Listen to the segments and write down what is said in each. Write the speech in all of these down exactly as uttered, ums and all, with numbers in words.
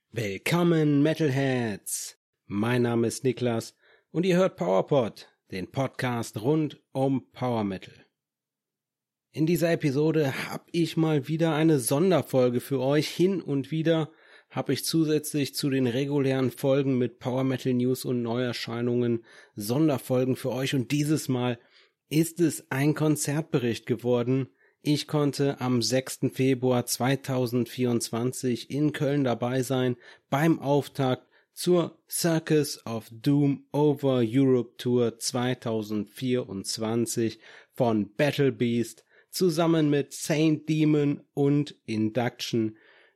Willkommen Metalheads! Mein Name ist Niklas und ihr hört PowerPod, den Podcast rund um Power Metal. In dieser Episode habe ich mal wieder eine Sonderfolge für euch. Hin und wieder habe ich zusätzlich zu den regulären Folgen mit Power Metal News und Neuerscheinungen Sonderfolgen für euch und dieses Mal ist es ein Konzertbericht geworden. Ich konnte am sechsten Februar zweitausendvierundzwanzig in Köln dabei sein beim Auftakt zur Circus of Doom Over Europe Tour zweitausendvierundzwanzig von Battle Beast zusammen mit Saint Demon und Induction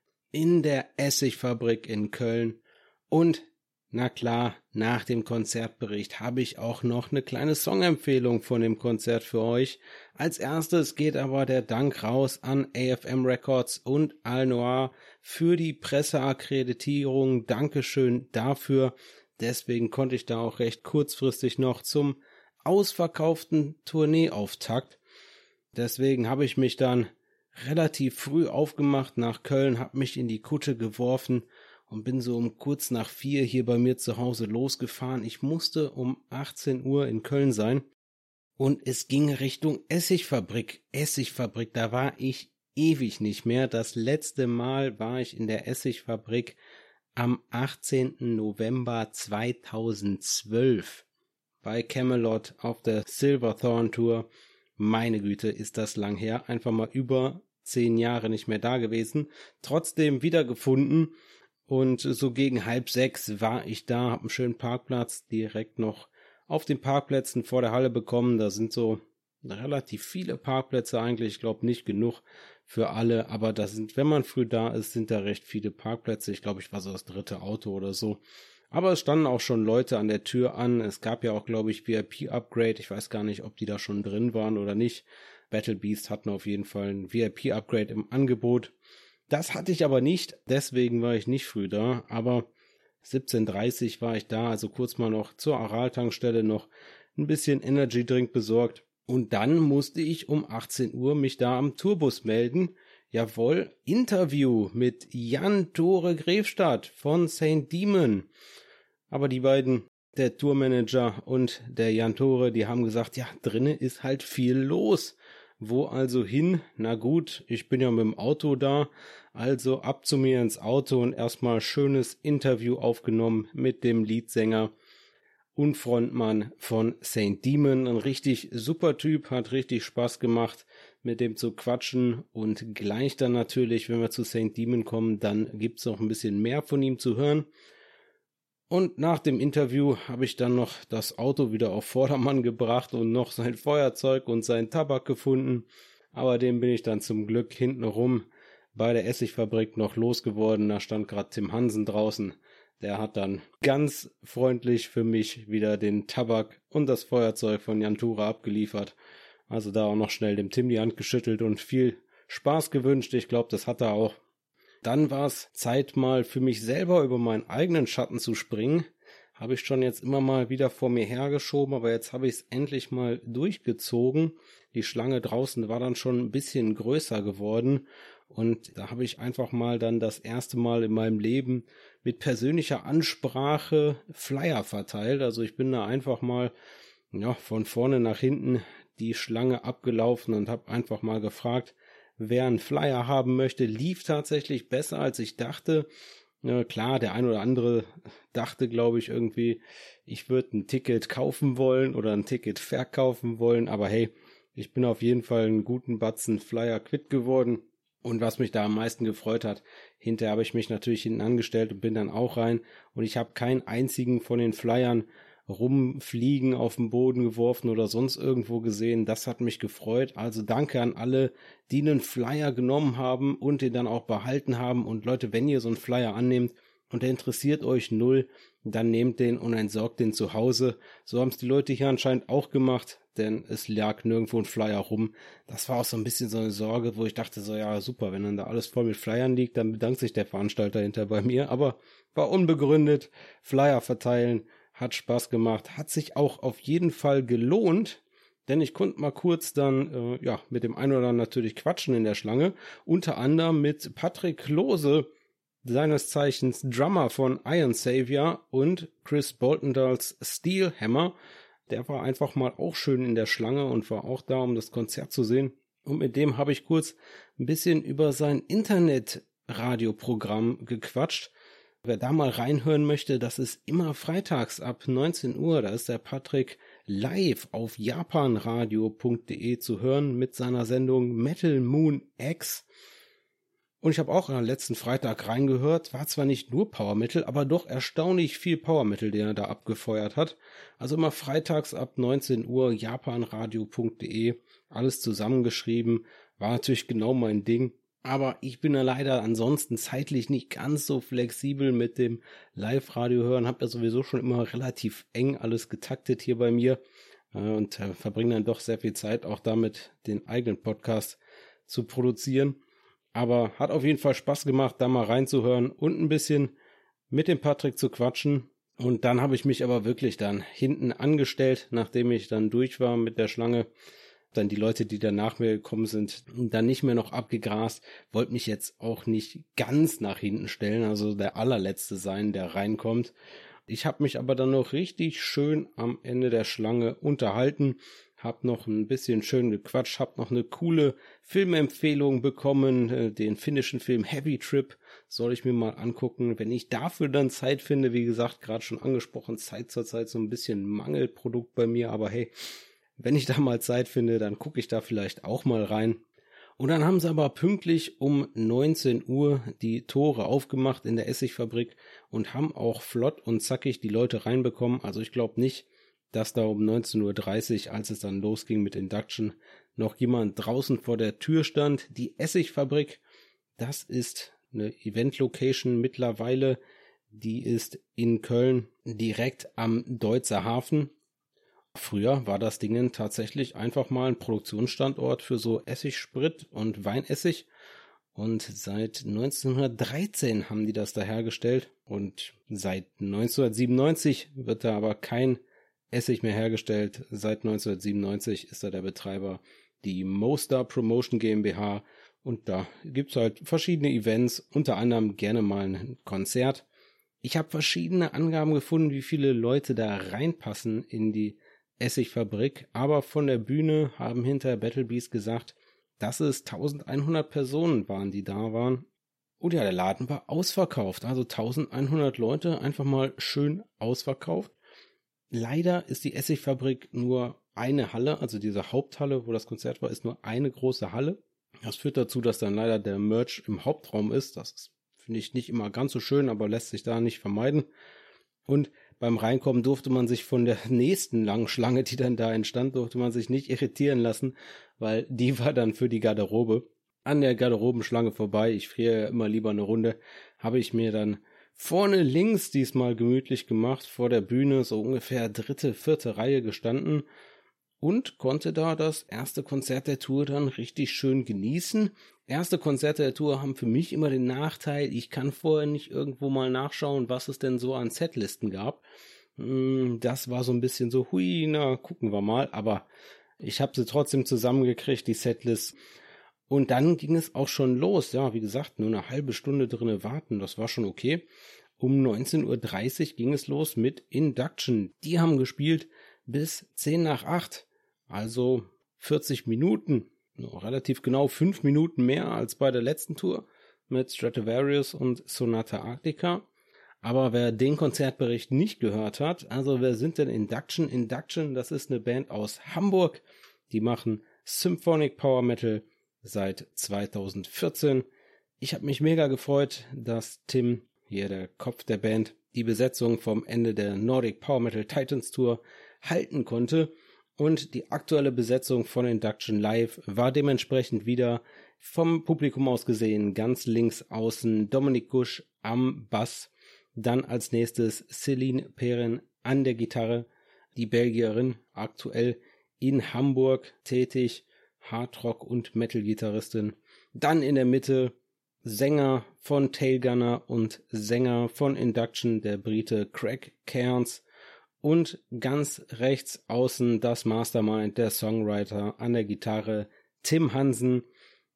in der Essigfabrik in Köln. Und na klar, nach dem Konzertbericht habe ich auch noch eine kleine Songempfehlung von dem Konzert für euch. Als erstes geht aber der Dank raus an A F M Records und Al Noir für die Presseakkreditierung. Dankeschön dafür. Deswegen konnte ich da auch recht kurzfristig noch zum ausverkauften Tourneeauftakt. Deswegen habe ich mich dann relativ früh aufgemacht nach Köln, habe mich in die Kutte geworfen und bin so um kurz nach vier hier bei mir zu Hause losgefahren. Ich musste um achtzehn Uhr in Köln sein und es ging Richtung Essigfabrik. Essigfabrik, da war ich ewig nicht mehr. Das letzte Mal war ich in der Essigfabrik am achtzehnten November zweitausendzwölf bei Camelot auf der Silverthorn Tour. Meine Güte, ist das lang her. Einfach mal über zehn Jahre nicht mehr da gewesen. Trotzdem wiedergefunden. Und so gegen halb sechs war ich da, hab einen schönen Parkplatz direkt noch auf den Parkplätzen vor der Halle bekommen. Da sind so relativ viele Parkplätze eigentlich, ich glaube nicht genug für alle, aber da sind, wenn man früh da ist, sind da recht viele Parkplätze. Ich glaube, ich war so das dritte Auto oder so. Aber es standen auch schon Leute an der Tür an. Es gab ja auch, glaube ich, V I P-Upgrade. Ich weiß gar nicht, ob die da schon drin waren oder nicht. Battle Beast hatten auf jeden Fall ein V I P-Upgrade im Angebot. Das hatte ich aber nicht, deswegen war ich nicht früh da, aber siebzehn Uhr dreißig war ich da, also kurz mal noch zur Aral-Tankstelle noch ein bisschen Energy-Drink besorgt und dann musste ich um achtzehn Uhr mich da am Tourbus melden. Jawohl, Interview mit Jan-Tore Grefstadt von Saint Demon. Aber die beiden, der Tourmanager und der Jan-Tore, die haben gesagt, ja, drinnen ist halt viel los. Wo also hin? Na gut, ich bin ja mit dem Auto da, also ab zu mir ins Auto und erstmal schönes Interview aufgenommen mit dem Leadsänger und Frontmann von Saint Demon. Ein richtig super Typ, hat richtig Spaß gemacht, mit dem zu quatschen und gleich dann natürlich, wenn wir zu Saint Demon kommen, dann gibt's noch ein bisschen mehr von ihm zu hören. Und nach dem Interview habe ich dann noch das Auto wieder auf Vordermann gebracht und noch sein Feuerzeug und seinen Tabak gefunden. Aber den bin ich dann zum Glück hintenrum bei der Essigfabrik noch losgeworden. Da stand gerade Tim Hansen draußen. Der hat dann ganz freundlich für mich wieder den Tabak und das Feuerzeug von Jan-Tore abgeliefert. Also da auch noch schnell dem Tim die Hand geschüttelt und viel Spaß gewünscht. Ich glaube, das hat er auch. Dann war es Zeit mal für mich selber über meinen eigenen Schatten zu springen. Habe ich schon jetzt immer mal wieder vor mir hergeschoben, aber jetzt habe ich es endlich mal durchgezogen. Die Schlange draußen war dann schon ein bisschen größer geworden und da habe ich einfach mal dann das erste Mal in meinem Leben mit persönlicher Ansprache Flyer verteilt. Also ich bin da einfach mal ja von vorne nach hinten die Schlange abgelaufen und habe einfach mal gefragt, wer einen Flyer haben möchte. Lief tatsächlich besser, als ich dachte. Ja, klar, der ein oder andere dachte, glaube ich, irgendwie, ich würde ein Ticket kaufen wollen oder ein Ticket verkaufen wollen. Aber hey, ich bin auf jeden Fall einen guten Batzen Flyer quitt geworden. Und was mich da am meisten gefreut hat, hinterher habe ich mich natürlich hinten angestellt und bin dann auch rein. Und ich habe keinen einzigen von den Flyern rumfliegen, auf den Boden geworfen oder sonst irgendwo gesehen. Das hat mich gefreut. Also danke an alle, die einen Flyer genommen haben und den dann auch behalten haben. Und Leute, wenn ihr so einen Flyer annehmt und der interessiert euch null, dann nehmt den und entsorgt den zu Hause. So haben es die Leute hier anscheinend auch gemacht, denn es lag nirgendwo ein Flyer rum. Das war auch so ein bisschen so eine Sorge, wo ich dachte so, ja super, wenn dann da alles voll mit Flyern liegt, dann bedankt sich der Veranstalter hinter bei mir. Aber war unbegründet. Flyer verteilen hat Spaß gemacht, hat sich auch auf jeden Fall gelohnt, denn ich konnte mal kurz dann äh, ja mit dem einen oder anderen natürlich quatschen in der Schlange, unter anderem mit Patrick Klose, seines Zeichens Drummer von Iron Savior, und Chris Boltondals Steel Hammer. Der war einfach mal auch schön in der Schlange und war auch da, um das Konzert zu sehen. Und mit dem habe ich kurz ein bisschen über sein Internet-Radioprogramm gequatscht. Wer da mal reinhören möchte, das ist immer freitags ab neunzehn Uhr. Da ist der Patrick live auf japanradio punkt de zu hören mit seiner Sendung Metal Moon X. Und ich habe auch am letzten Freitag reingehört. War zwar nicht nur Power Metal, aber doch erstaunlich viel Power Metal, den er da abgefeuert hat. Also immer freitags ab neunzehn Uhr japanradio punkt de. Alles zusammengeschrieben. War natürlich genau mein Ding. Aber ich bin ja leider ansonsten zeitlich nicht ganz so flexibel mit dem Live-Radio hören. Hab ja sowieso schon immer relativ eng alles getaktet hier bei mir. Und verbringe dann doch sehr viel Zeit auch damit, den eigenen Podcast zu produzieren. Aber hat auf jeden Fall Spaß gemacht, da mal reinzuhören und ein bisschen mit dem Patrick zu quatschen. Und dann habe ich mich aber wirklich dann hinten angestellt, nachdem ich dann durch war mit der Schlange. Dann die Leute, die dann nach mir gekommen sind, dann nicht mehr noch abgegrast. Wollte mich jetzt auch nicht ganz nach hinten stellen, also der allerletzte sein, der reinkommt. Ich habe mich aber dann noch richtig schön am Ende der Schlange unterhalten. Hab noch ein bisschen schön gequatscht, hab noch eine coole Filmempfehlung bekommen, den finnischen Film Heavy Trip soll ich mir mal angucken, wenn ich dafür dann Zeit finde. Wie gesagt, gerade schon angesprochen, Zeit zur Zeit so ein bisschen Mangelprodukt bei mir, aber hey, wenn ich da mal Zeit finde, dann gucke ich da vielleicht auch mal rein. Und dann haben sie aber pünktlich um neunzehn Uhr die Tore aufgemacht in der Essigfabrik und haben auch flott und zackig die Leute reinbekommen. Also ich glaube nicht, dass da um neunzehn Uhr dreißig, als es dann losging mit Induction, noch jemand draußen vor der Tür stand. Die Essigfabrik, das ist eine Event-Location mittlerweile, die ist in Köln direkt am Deutzer Hafen. Früher war das Ding tatsächlich einfach mal ein Produktionsstandort für so Essigsprit und Weinessig. Und seit neunzehnhundertdreizehn haben die das da hergestellt. Und seit neunzehnhundertsiebenundneunzig wird da aber kein Essig mehr hergestellt. Seit neunzehnhundertsiebenundneunzig ist da der Betreiber die Mostar Promotion GmbH. Und da gibt's halt verschiedene Events, unter anderem gerne mal ein Konzert. Ich habe verschiedene Angaben gefunden, wie viele Leute da reinpassen in die Essigfabrik, aber von der Bühne haben hinter Battle Beast gesagt, dass es eintausendeinhundert Personen waren, die da waren. Und ja, der Laden war ausverkauft, also eintausendeinhundert Leute, einfach mal schön ausverkauft. Leider ist die Essigfabrik nur eine Halle, also diese Haupthalle, wo das Konzert war, ist nur eine große Halle. Das führt dazu, dass dann leider der Merch im Hauptraum ist. Das ist, finde ich, nicht immer ganz so schön, aber lässt sich da nicht vermeiden. Und beim Reinkommen durfte man sich von der nächsten langen Schlange, die dann da entstand, durfte man sich nicht irritieren lassen, weil die war dann für die Garderobe. An der Garderobenschlange vorbei, ich friere ja immer lieber eine Runde, habe ich mir dann vorne links diesmal gemütlich gemacht, vor der Bühne, so ungefähr dritte, vierte Reihe gestanden und konnte da das erste Konzert der Tour dann richtig schön genießen. Erste Konzerte der Tour haben für mich immer den Nachteil, ich kann vorher nicht irgendwo mal nachschauen, was es denn so an Setlisten gab. Das war so ein bisschen so, hui, na, gucken wir mal, aber ich habe sie trotzdem zusammengekriegt, die Setlist. Und dann ging es auch schon los, ja, wie gesagt, nur eine halbe Stunde drinne warten, das war schon okay. Um neunzehn Uhr dreißig ging es los mit Induction. Die haben gespielt bis zehn nach acht, also vierzig Minuten. Relativ genau fünf Minuten mehr als bei der letzten Tour mit Stratovarius und Sonata Arctica. Aber wer den Konzertbericht nicht gehört hat, also wer sind denn Induction? Induction, das ist eine Band aus Hamburg. Die machen Symphonic Power Metal seit zweitausendvierzehn. Ich habe mich mega gefreut, dass Tim, hier der Kopf der Band, die Besetzung vom Ende der Nordic Power Metal Titans Tour halten konnte. Und die aktuelle Besetzung von Induction Live war dementsprechend wieder vom Publikum aus gesehen ganz links außen Dominik Gusch am Bass, dann als nächstes Céline Perrin an der Gitarre, die Belgierin, aktuell in Hamburg tätig, Hardrock- und Metal-Gitarristin, dann in der Mitte Sänger von Tailgunner und Sänger von Induction, der Brite Craig Cairns, und ganz rechts außen das Mastermind, der Songwriter an der Gitarre, Tim Hansen,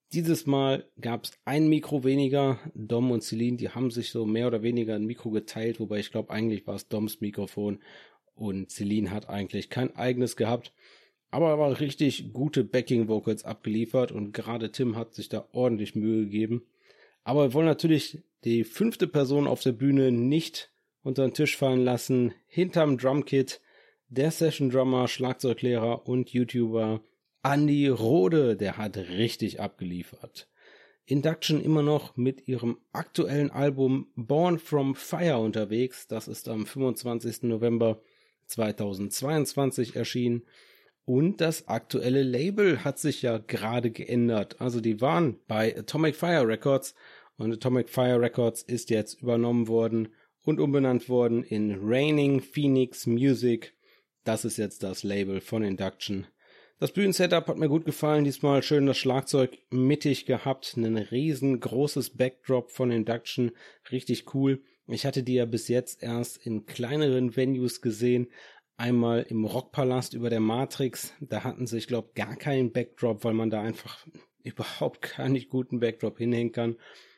Dieses Mal gab es ein Mikro weniger. Dom und Celine, die haben sich so mehr oder weniger ein Mikro geteilt, wobei ich glaube, eigentlich war es Doms Mikrofon und Celine hat eigentlich kein eigenes gehabt. Aber er war richtig gute Backing-Vocals abgeliefert und gerade Tim hat sich da ordentlich Mühe gegeben. Aber wir wollen natürlich die fünfte Person auf der Bühne nicht unter den Tisch fallen lassen. Hinterm Drumkit der Session-Drummer, Schlagzeuglehrer und YouTuber Andi Rode, der hat richtig abgeliefert. Induction immer noch mit ihrem aktuellen Album Born from Fire unterwegs. Das ist am fünfundzwanzigsten November zweitausendzweiundzwanzig erschienen. Und das aktuelle Label hat sich ja gerade geändert. Also die waren bei Atomic Fire Records und Atomic Fire Records ist jetzt übernommen worden und umbenannt worden in Raining Phoenix Music. Das ist jetzt das Label von Induction. Das Bühnensetup hat mir gut gefallen, diesmal schön das Schlagzeug mittig gehabt, ein riesengroßes Backdrop von Induction, richtig cool. Ich hatte die ja bis jetzt erst in kleineren Venues gesehen, einmal im Rockpalast über der Matrix, da hatten sie, ich glaube, gar keinen Backdrop, weil man da einfach überhaupt gar nicht guten Backdrop hinhängen kann.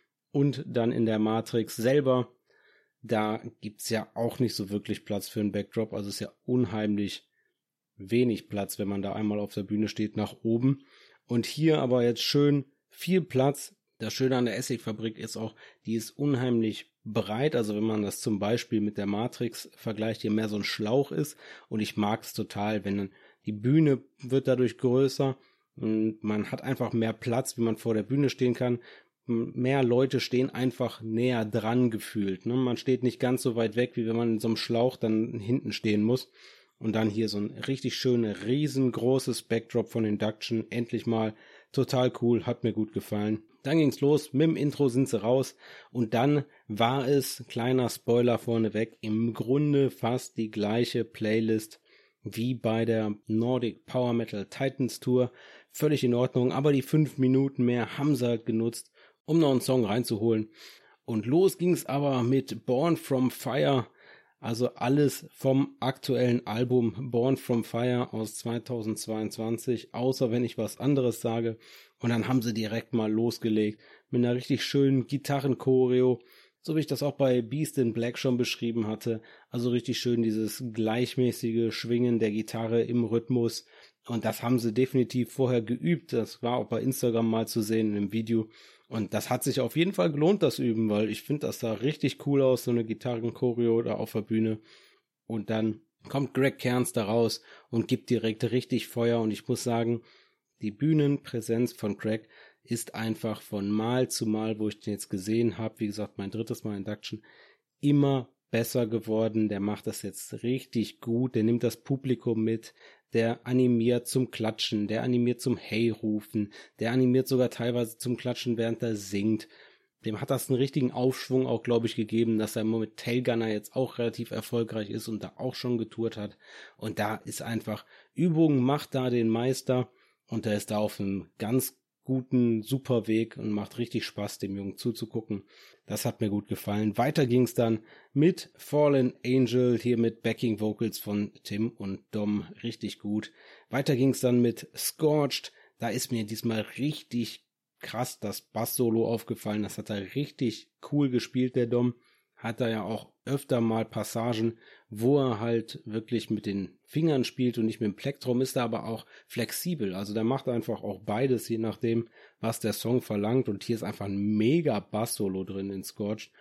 Und dann in der Matrix selber, da gibt's ja auch nicht so wirklich Platz für einen Backdrop, also ist ja unheimlich wenig Platz, wenn man da einmal auf der Bühne steht, nach oben. Und hier aber jetzt schön viel Platz. Das Schöne an der Essigfabrik ist auch, die ist unheimlich breit. Also wenn man das zum Beispiel mit der Matrix vergleicht, hier mehr so ein Schlauch ist. Und ich mag es total, wenn dann die Bühne wird dadurch größer und man hat einfach mehr Platz, wie man vor der Bühne stehen kann. Mehr Leute stehen einfach näher dran gefühlt. Ne? Man steht nicht ganz so weit weg, wie wenn man in so einem Schlauch dann hinten stehen muss. Und dann hier so ein richtig schönes, riesengroßes Backdrop von Induction. Endlich mal total cool, hat mir gut gefallen. Dann ging's los, mit dem Intro sind sie raus. Und dann war es, kleiner Spoiler vorneweg, im Grunde fast die gleiche Playlist wie bei der Nordic Power Metal Titans Tour. Völlig in Ordnung, aber die fünf Minuten mehr haben sie halt genutzt, um noch einen Song reinzuholen. Und los ging's aber mit Born from Fire. Also alles vom aktuellen Album Born from Fire aus zweitausendzweiundzwanzig, außer wenn ich was anderes sage. Und dann haben sie direkt mal losgelegt mit einer richtig schönen Gitarrenchoreo, so wie ich das auch bei Beast in Black schon beschrieben hatte. Also richtig schön dieses gleichmäßige Schwingen der Gitarre im Rhythmus. Und das haben sie definitiv vorher geübt. Das war auch bei Instagram mal zu sehen im Video. Und das hat sich auf jeden Fall gelohnt, das Üben, weil ich finde, das sah richtig cool aus, so eine Gitarrenchoreo da auf der Bühne. Und dann kommt Greg Cairns da raus und gibt direkt richtig Feuer. Und ich muss sagen, die Bühnenpräsenz von Greg ist einfach von Mal zu Mal, wo ich den jetzt gesehen habe, wie gesagt, mein drittes Mal Induction, immer besser geworden. Der macht das jetzt richtig gut, der nimmt das Publikum mit, der animiert zum Klatschen, der animiert zum Hey-Rufen, der animiert sogar teilweise zum Klatschen, während er singt. Dem hat das einen richtigen Aufschwung auch, glaube ich, gegeben, dass er mit Tailgunner jetzt auch relativ erfolgreich ist und da auch schon getourt hat. Und da ist einfach, Übung macht da den Meister und der ist da auf einem ganz guten, super Weg und macht richtig Spaß, dem Jungen zuzugucken. Das hat mir gut gefallen. Weiter ging's dann mit Fallen Angel, hier mit Backing Vocals von Tim und Dom, richtig gut. Weiter ging's dann mit Scorched, da ist mir diesmal richtig krass das Bass-Solo aufgefallen, das hat er richtig cool gespielt, der Dom. Hat er ja auch öfter mal Passagen, wo er halt wirklich mit den Fingern spielt und nicht mit dem Plektrum, ist er aber auch flexibel. Also der macht einfach auch beides, je nachdem, was der Song verlangt. Und hier ist einfach ein mega Bass-Solo drin in Scorched.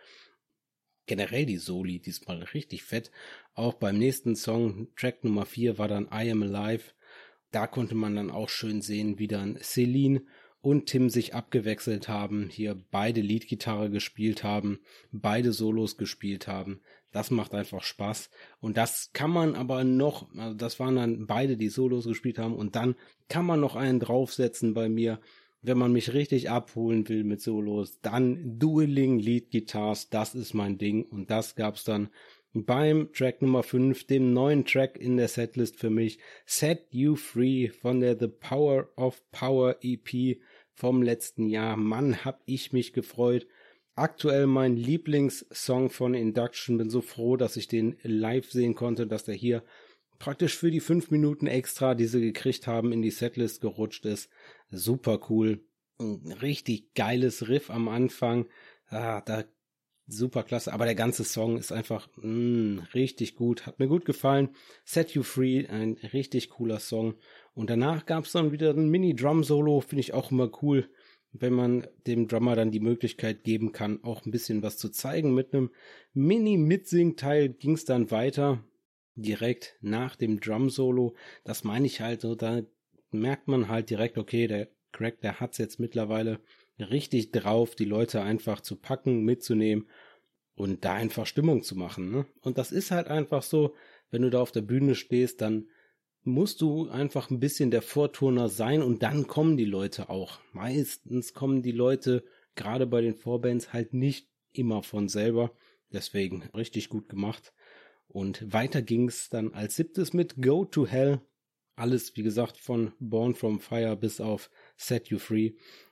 Generell die Soli, diesmal richtig fett. Auch beim nächsten Song, Track Nummer vier, war dann I Am Alive. Da konnte man dann auch schön sehen, wie dann Celine und Tim sich abgewechselt haben, hier beide Leadgitarre gespielt haben, beide Solos gespielt haben. Das macht einfach Spaß. Und das kann man aber noch, also das waren dann beide, die Solos gespielt haben, und dann kann man noch einen draufsetzen bei mir, wenn man mich richtig abholen will mit Solos, dann Dueling Lead Guitars, das ist mein Ding. Und das gab's dann beim Track Nummer fünf, dem neuen Track in der Setlist für mich, Set You Free von der The Power of Power E P vom letzten Jahr. Mann, hab ich mich gefreut. Aktuell mein Lieblingssong von Induction. Bin so froh, dass ich den live sehen konnte, dass der hier praktisch für die fünf Minuten extra, die sie gekriegt haben, in die Setlist gerutscht ist. Super cool. ein richtig geiles Riff am Anfang. Ah, da super klasse, aber der ganze Song ist einfach mh, richtig gut, hat mir gut gefallen. Set You Free, ein richtig cooler Song. Und danach gab es dann wieder ein Mini-Drum-Solo, finde ich auch immer cool, wenn man dem Drummer dann die Möglichkeit geben kann, auch ein bisschen was zu zeigen. Mit einem Mini-Mitsing-Teil ging es dann weiter, direkt nach dem Drum-Solo. Das meine ich halt so, da merkt man halt direkt, okay, der Greg, der hat's jetzt mittlerweile richtig drauf, die Leute einfach zu packen, mitzunehmen und da einfach Stimmung zu machen, ne? Und das ist halt einfach so, wenn du da auf der Bühne stehst, dann musst du einfach ein bisschen der Vorturner sein und dann kommen die Leute auch. Meistens kommen die Leute, gerade bei den Vorbands, halt nicht immer von selber. Deswegen richtig gut gemacht. Und weiter ging's dann als siebtes mit Go to Hell. Alles, wie gesagt, von Born from Fire bis auf Set You Free.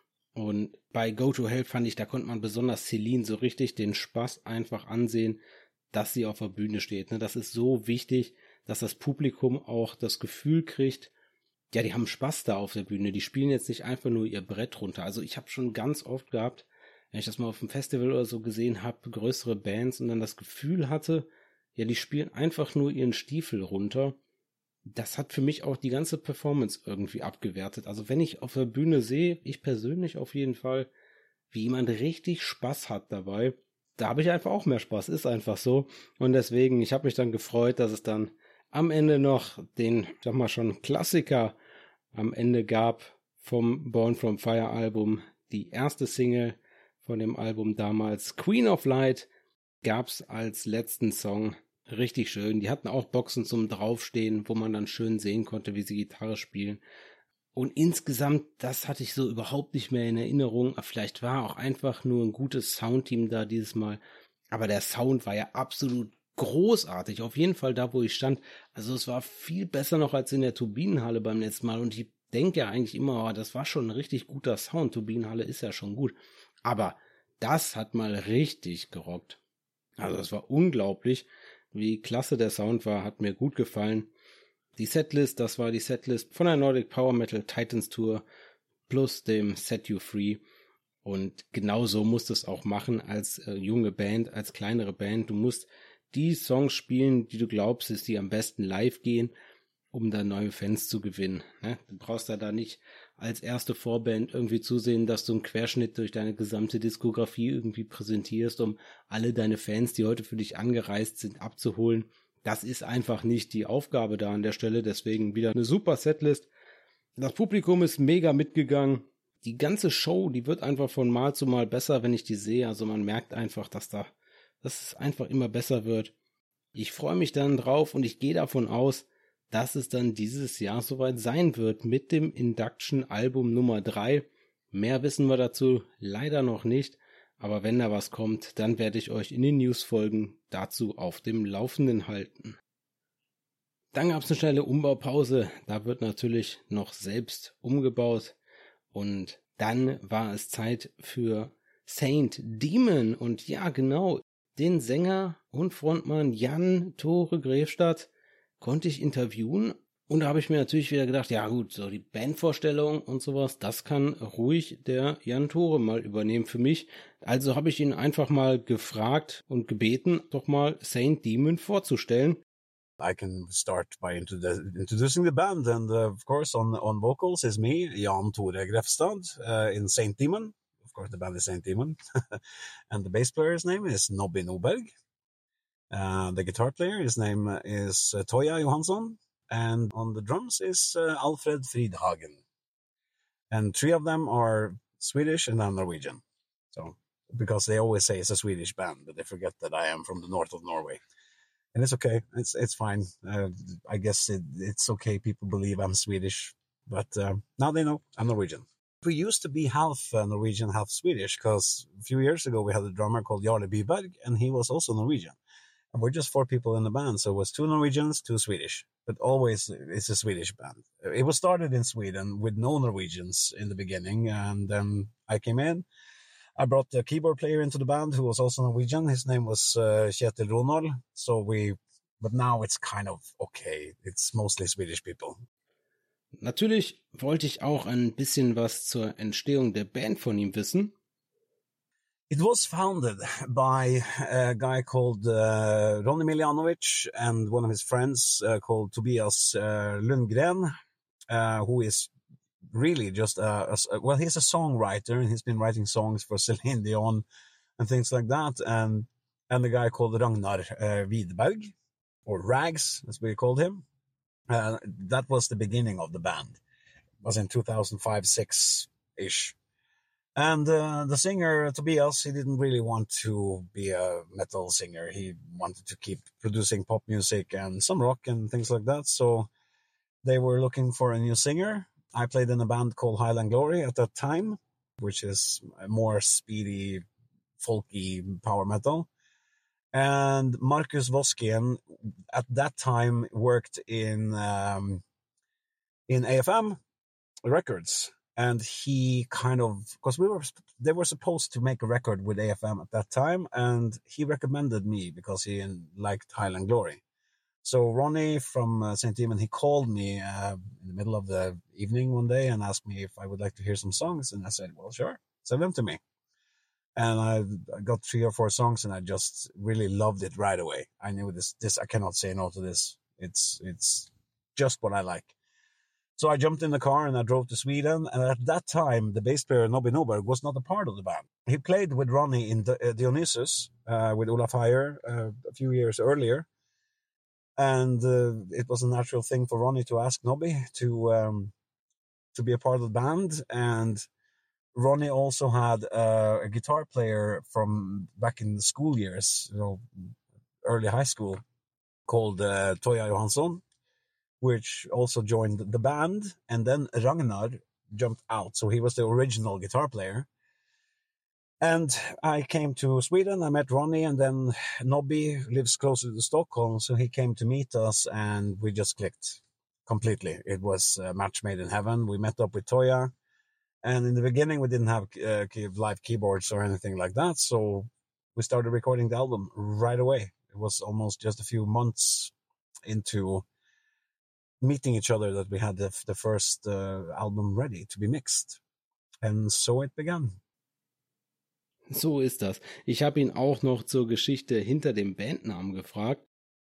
Und bei Go to Hell fand ich, da konnte man besonders Celine so richtig den Spaß einfach ansehen, dass sie auf der Bühne steht. Das ist so wichtig, dass das Publikum auch das Gefühl kriegt, ja, die haben Spaß da auf der Bühne. Die spielen jetzt nicht einfach nur ihr Brett runter. Also ich habe schon ganz oft gehabt, wenn ich das mal auf dem Festival oder so gesehen habe, größere Bands und dann das Gefühl hatte, ja, die spielen einfach nur ihren Stiefel runter. Das hat für mich auch die ganze Performance irgendwie abgewertet. Also wenn ich auf der Bühne sehe, ich persönlich auf jeden Fall, wie jemand richtig Spaß hat dabei, da habe ich einfach auch mehr Spaß, ist einfach so. Und deswegen, ich habe mich dann gefreut, dass es dann am Ende noch den, sag mal schon, Klassiker am Ende gab vom Born from Fire Album. Die erste Single von dem Album damals, Queen of Light, gab's als letzten Song. Richtig schön. Die hatten auch Boxen zum Draufstehen, wo man dann schön sehen konnte, wie sie Gitarre spielen. Und insgesamt, das hatte ich so überhaupt nicht mehr in Erinnerung. Vielleicht war auch einfach nur ein gutes Soundteam da dieses Mal. Aber der Sound war ja absolut großartig. Auf jeden Fall da, wo ich stand. Also es war viel besser noch als in der Turbinenhalle beim letzten Mal. Und ich denke ja eigentlich immer, oh, das war schon ein richtig guter Sound. Turbinenhalle ist ja schon gut. Aber das hat mal richtig gerockt. Also das war unglaublich. Wie klasse der Sound war, hat mir gut gefallen. Die Setlist, das war die Setlist von der Nordic Power Metal Titans Tour plus dem Set You Free. Und genau so musst du es auch machen als äh, junge Band, als kleinere Band. Du musst die Songs spielen, die du glaubst, dass die am besten live gehen, um da neue Fans zu gewinnen. Ne? Du brauchst da da nicht als erste Vorband irgendwie zusehen, dass du einen Querschnitt durch deine gesamte Diskografie irgendwie präsentierst, um alle deine Fans, die heute für dich angereist sind, abzuholen. Das ist einfach nicht die Aufgabe da an der Stelle, deswegen wieder eine super Setlist. Das Publikum ist mega mitgegangen. Die ganze Show, die wird einfach von Mal zu Mal besser, wenn ich die sehe. Also man merkt einfach, dass da, dass es einfach immer besser wird. Ich freue mich dann drauf und ich gehe davon aus, dass es dann dieses Jahr soweit sein wird mit dem Induction-Album Nummer drei. Mehr wissen wir dazu leider noch nicht, aber wenn da was kommt, dann werde ich euch in den News-Folgen dazu auf dem Laufenden halten. Dann gab es eine schnelle Umbaupause, da wird natürlich noch selbst umgebaut und dann war es Zeit für Saint Demon und ja genau, den Sänger und Frontmann Jan Tore Grefstadt konnte ich interviewen und da habe ich mir natürlich wieder gedacht, ja gut, so die Bandvorstellung und sowas, das kann ruhig der Jan Tore mal übernehmen für mich. Also habe ich ihn einfach mal gefragt und gebeten, doch mal Saint Demon vorzustellen. I can start by introdu- introducing the band, and uh, of course on on vocals is me, Jan Tore Grefstad, uh, in Saint Demon. Of course the band is Saint Demon. And the bass player's name is Nobby Noberg. Uh, the guitar player, his name is uh, Toya Johansson, and on the drums is uh, Alfred Fridhagen. And three of them are Swedish and I'm Norwegian. So, because they always say it's a Swedish band, but they forget that I am from the north of Norway. And it's okay. It's it's fine. Uh, I guess it, it's okay. People believe I'm Swedish, but uh, now they know I'm Norwegian. We used to be half uh, Norwegian, half Swedish, because a few years ago we had a drummer called Jarle Byberg, and he was also Norwegian. And we're just four people in the band, so it was two Norwegians, two Swedish. But always it's a Swedish band. It was started in Sweden with no Norwegians in the beginning, and then I came in. I brought the keyboard player into the band who was also Norwegian. His name was uh, Kjetil Ronald. So we, but now it's kind of okay. It's mostly Swedish people. Natürlich wollte ich auch ein bisschen was zur Entstehung der Band von ihm wissen. It was founded by a guy called uh, Ronny Miljanovic and one of his friends uh, called Tobias uh, Lundgren, uh, who is really just a, a, well, he's a songwriter and he's been writing songs for Celine Dion and things like that, and and the guy called Ragnar uh, Widerberg, or Rags as we called him. Uh, that was the beginning of the band. It was in two thousand five, six ish. And uh, the singer, Tobias, he didn't really want to be a metal singer. He wanted to keep producing pop music and some rock and things like that. So they were looking for a new singer. I played in a band called Highland Glory at that time, which is more speedy, folky power metal. And Marcus Voskien at that time worked in um, in A F M Records. And he kind of, because we were, they were supposed to make a record with A F M at that time, and he recommended me because he liked Highland Glory. So Ronnie from uh, Saint Demon, he called me uh, in the middle of the evening one day and asked me if I would like to hear some songs, and I said, well, sure, send them to me. And I, I got three or four songs, and I just really loved it right away. I knew this, this, I cannot say no to this. It's, it's just what I like. So I jumped in the car and I drove to Sweden. And at that time, the bass player, Nobby Noberg, was not a part of the band. He played with Ronnie in the, uh, Dionysus, uh, with Olaf Heyer, uh, a few years earlier. And uh, it was a natural thing for Ronnie to ask Nobby to, um, to be a part of the band. And Ronnie also had uh, a guitar player from back in the school years, you know, early high school, called uh, Toya Johansson, which also joined the band. And then Ragnar jumped out. So he was the original guitar player. And I came to Sweden, I met Ronnie, and then Nobby lives closer to Stockholm. So he came to meet us and we just clicked completely. It was a match made in heaven. We met up with Toya. And in the beginning, we didn't have uh, live keyboards or anything like that. So we started recording the album right away. It was almost just a few months into meeting each other that we had the, the first uh, album ready to be mixed. And so it began. So ist das. Ich habe ihn auch noch zur Geschichte hinter dem Bandnamen gefragt.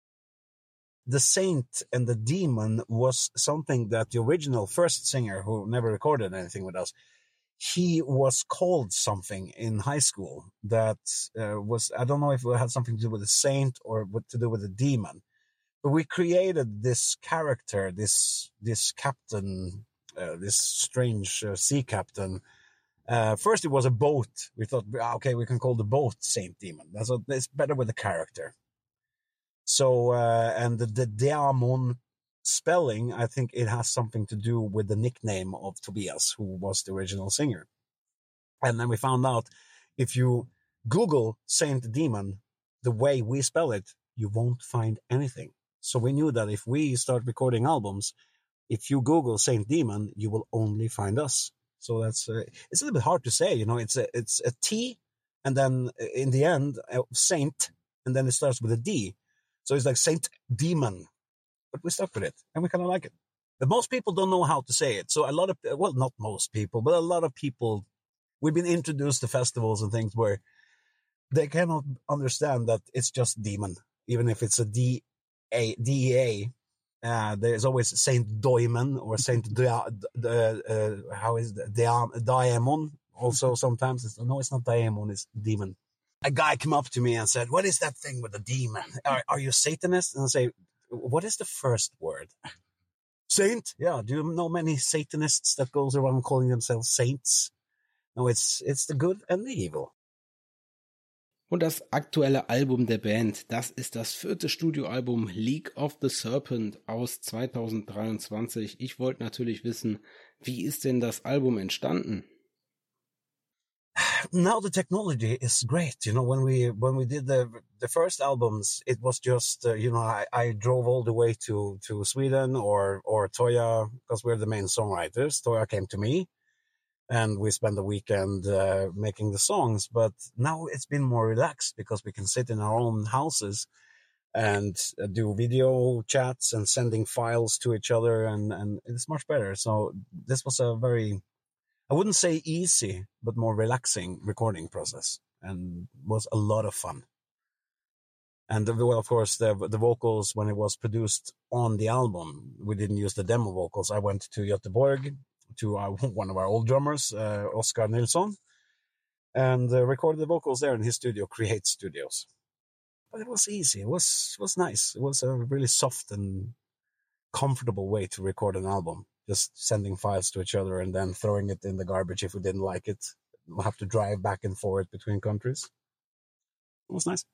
The Saint and the Demon was something that the original first singer, who never recorded anything with us, he was called something in high school that uh, was, I don't know if it had something to do with the saint or what to do with the demon. But we created this character, this this captain, uh, this strange uh, sea captain. Uh, first, it was a boat. We thought, okay, we can call the boat Saint Demon. That's a, it's better with the character. So, uh, and the, the Diamond spelling, I think it has something to do with the nickname of Tobias, who was the original singer. And then we found out if you Google Saint Demon, the way we spell it, you won't find anything. So we knew that if we start recording albums, if you Google Saint Demon, you will only find us. So that's uh, it's a little bit hard to say, you know. It's a it's a T, and then in the end, uh, Saint, and then it starts with a D. So it's like Saint Demon, but we stuck with it, and we kind of like it. But most people don't know how to say it. So a lot of well, not most people, but a lot of people, we've been introduced to festivals and things where they cannot understand that it's just demon, even if it's a D A D E A. Uh, there's always Saint Doimon or Saint Dia, uh, how is it? Dia, Diamond. Also, sometimes it's, no, it's not Diamond, it's demon. A guy came up to me and said, "What is that thing with the demon? Are, are you a Satanist?" And I say, "What is the first word?" Saint. Yeah. Do you know many Satanists that goes around calling themselves saints? No, it's it's the good and the evil. Und das aktuelle Album der Band, das ist das vierte Studioalbum League of the Serpent aus zweitausenddreiundzwanzig. Ich wollte natürlich wissen, wie ist denn das Album entstanden? Now the technology is great. You know, when we when we did the the first albums, it was just uh, you know I, I drove all the way to to Sweden or or Toya, because we're the main songwriters. Toya came to me. And we spend the weekend uh, making the songs. But now it's been more relaxed because we can sit in our own houses and uh, do video chats and sending files to each other, and, and it's much better. So this was a very, I wouldn't say easy, but more relaxing recording process, and was a lot of fun. And well, of course, the the vocals, when it was produced on the album, we didn't use the demo vocals. I went to Göteborg to our, one of our old drummers, uh, Oscar Nilsson, and uh, recorded the vocals there in his studio, Create Studios. But it was easy. It was it was nice. It was a really soft and comfortable way to record an album. Just sending files to each other and then throwing it in the garbage if we didn't like it. We'll have to drive back and forth between countries. It was nice.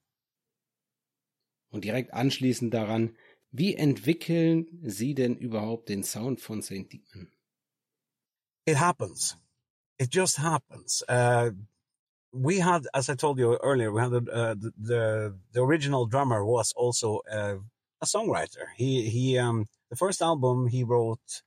Und direkt anschließend daran, wie entwickeln Sie denn überhaupt den Sound von Saint Demon? It happens. It just happens. Uh, we had, as I told you earlier, we had uh, the, the the original drummer was also uh, a songwriter. He he um the first album he wrote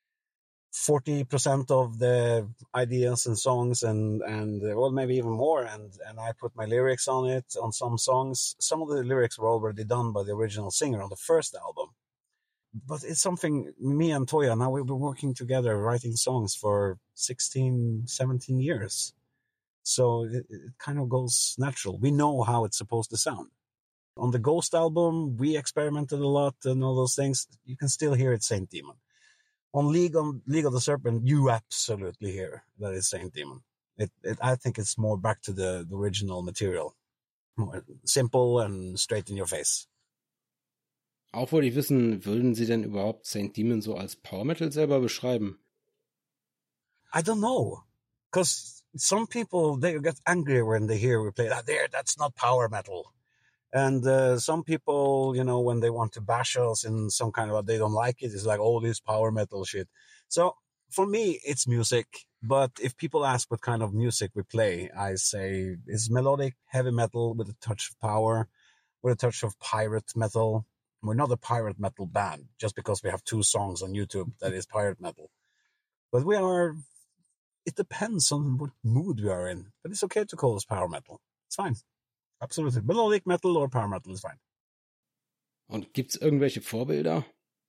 forty percent of the ideas and songs, and and uh, well, maybe even more, and and I put my lyrics on it on some songs. Some of the lyrics were already done by the original singer on the first album, but it's something, me and Toya, now we've been working together writing songs for sixteen, seventeen years, so it, it kind of goes natural. We know how it's supposed to sound. On the Ghost album, we experimented a lot and all those things. You can still hear it Saint Demon. On League, on League of the Serpent, you absolutely hear that it's Saint Demon. It, it, I think it's more back to the, the original material. More simple and straight in your face. Auch wollte ich wissen, würden Sie denn überhaupt Saint Demon so als Power Metal selber beschreiben? I don't know. Because some people, they get angry when they hear we play that. There, that's not power metal. And uh, some people, you know, when they want to bash us in some kind of, they don't like it, it's like, oh, this power metal shit. So for me, it's music. But if people ask what kind of music we play, I say it's melodic, heavy metal with a touch of power, with a touch of pirate metal. We're not a pirate metal band just because we have two songs on YouTube that is pirate metal. But we are, it depends on what mood we are in. But it's okay to call us power metal. It's fine. Absolutely. Melodic metal or power metal is fine. Und gibt's irgendwelche Vorbilder?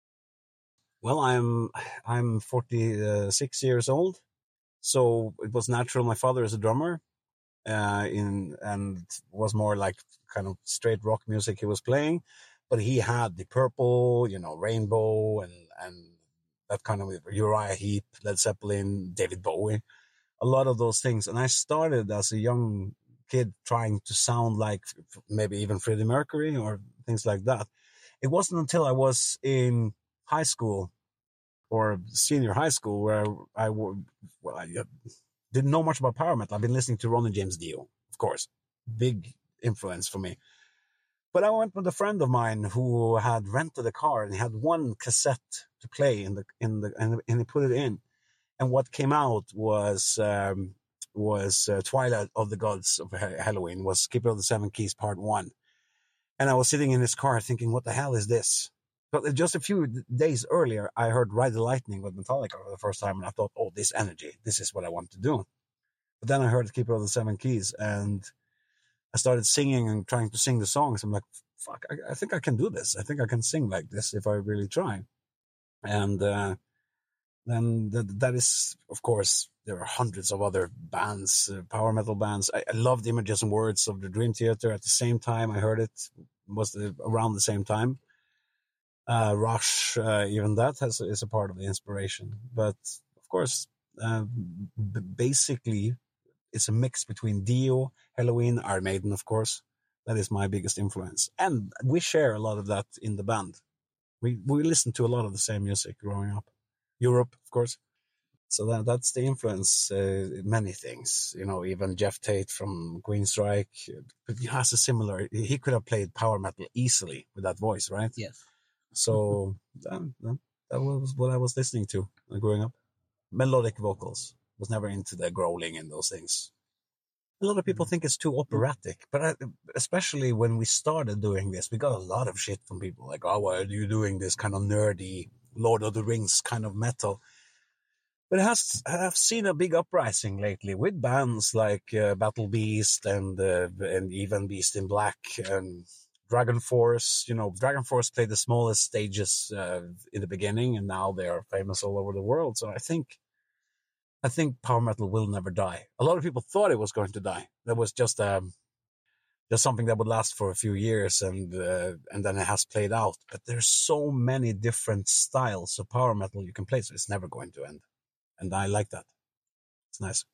Well, I'm I'm forty-six years old, so it was natural. My father is a drummer, uh, in and was more like kind of straight rock music he was playing, but he had the Purple, you know, Rainbow, and and that kind of Uriah Heep, Led Zeppelin, David Bowie, a lot of those things. And I started as a young kid trying to sound like maybe even Freddie Mercury or things like that. It wasn't until I was in high school or senior high school where I, I well, I didn't know much about power metal. I've been listening to Ronnie James Dio, of course, big influence for me. But I went with a friend of mine who had rented a car and he had one cassette to play in the in the and, and he put it in, and what came out was. Um, was uh, Twilight of the Gods of Halloween, was Keeper of the Seven Keys Part one. And I was sitting in his car thinking, what the hell is this? But just a few days earlier, I heard Ride the Lightning with Metallica for the first time, and I thought, oh, this energy, this is what I want to do. But then I heard Keeper of the Seven Keys, and I started singing and trying to sing the songs. I'm like, fuck, I, I think I can do this. I think I can sing like this if I really try. And uh, then that, that is, of course, there are hundreds of other bands, uh, power metal bands. I, I loved Images and Words of the Dream Theater. At the same time, I heard it, was the, around the same time. Uh, Rush, uh, even that has is a part of the inspiration. But of course, uh, b- basically, it's a mix between Dio, Halloween, Iron Maiden, of course. That is my biggest influence, and we share a lot of that in the band. We we listen to a lot of the same music growing up. Europe, of course. So that that's the influence. Uh, many things, you know, even Jeff Tate from Queensryche, but he has a similar. He could have played power metal easily with that voice, right? Yes. So that, that was what I was listening to growing up. Melodic vocals. Was never into the growling and those things. A lot of people think it's too operatic, but I, especially when we started doing this, we got a lot of shit from people like, "Oh, why are you doing this kind of nerdy Lord of the Rings kind of metal?" But it has, I've seen a big uprising lately with bands like uh, Battle Beast and uh, and even Beast in Black and Dragon Force, you know, Dragon Force played the smallest stages uh, in the beginning, and now they are famous all over the world. So I think, I think power metal will never die. A lot of people thought it was going to die. That was just um, just something that would last for a few years, and uh, and then it has played out. But there's so many different styles of power metal you can play, so it's never going to end. And I like that. It's nice.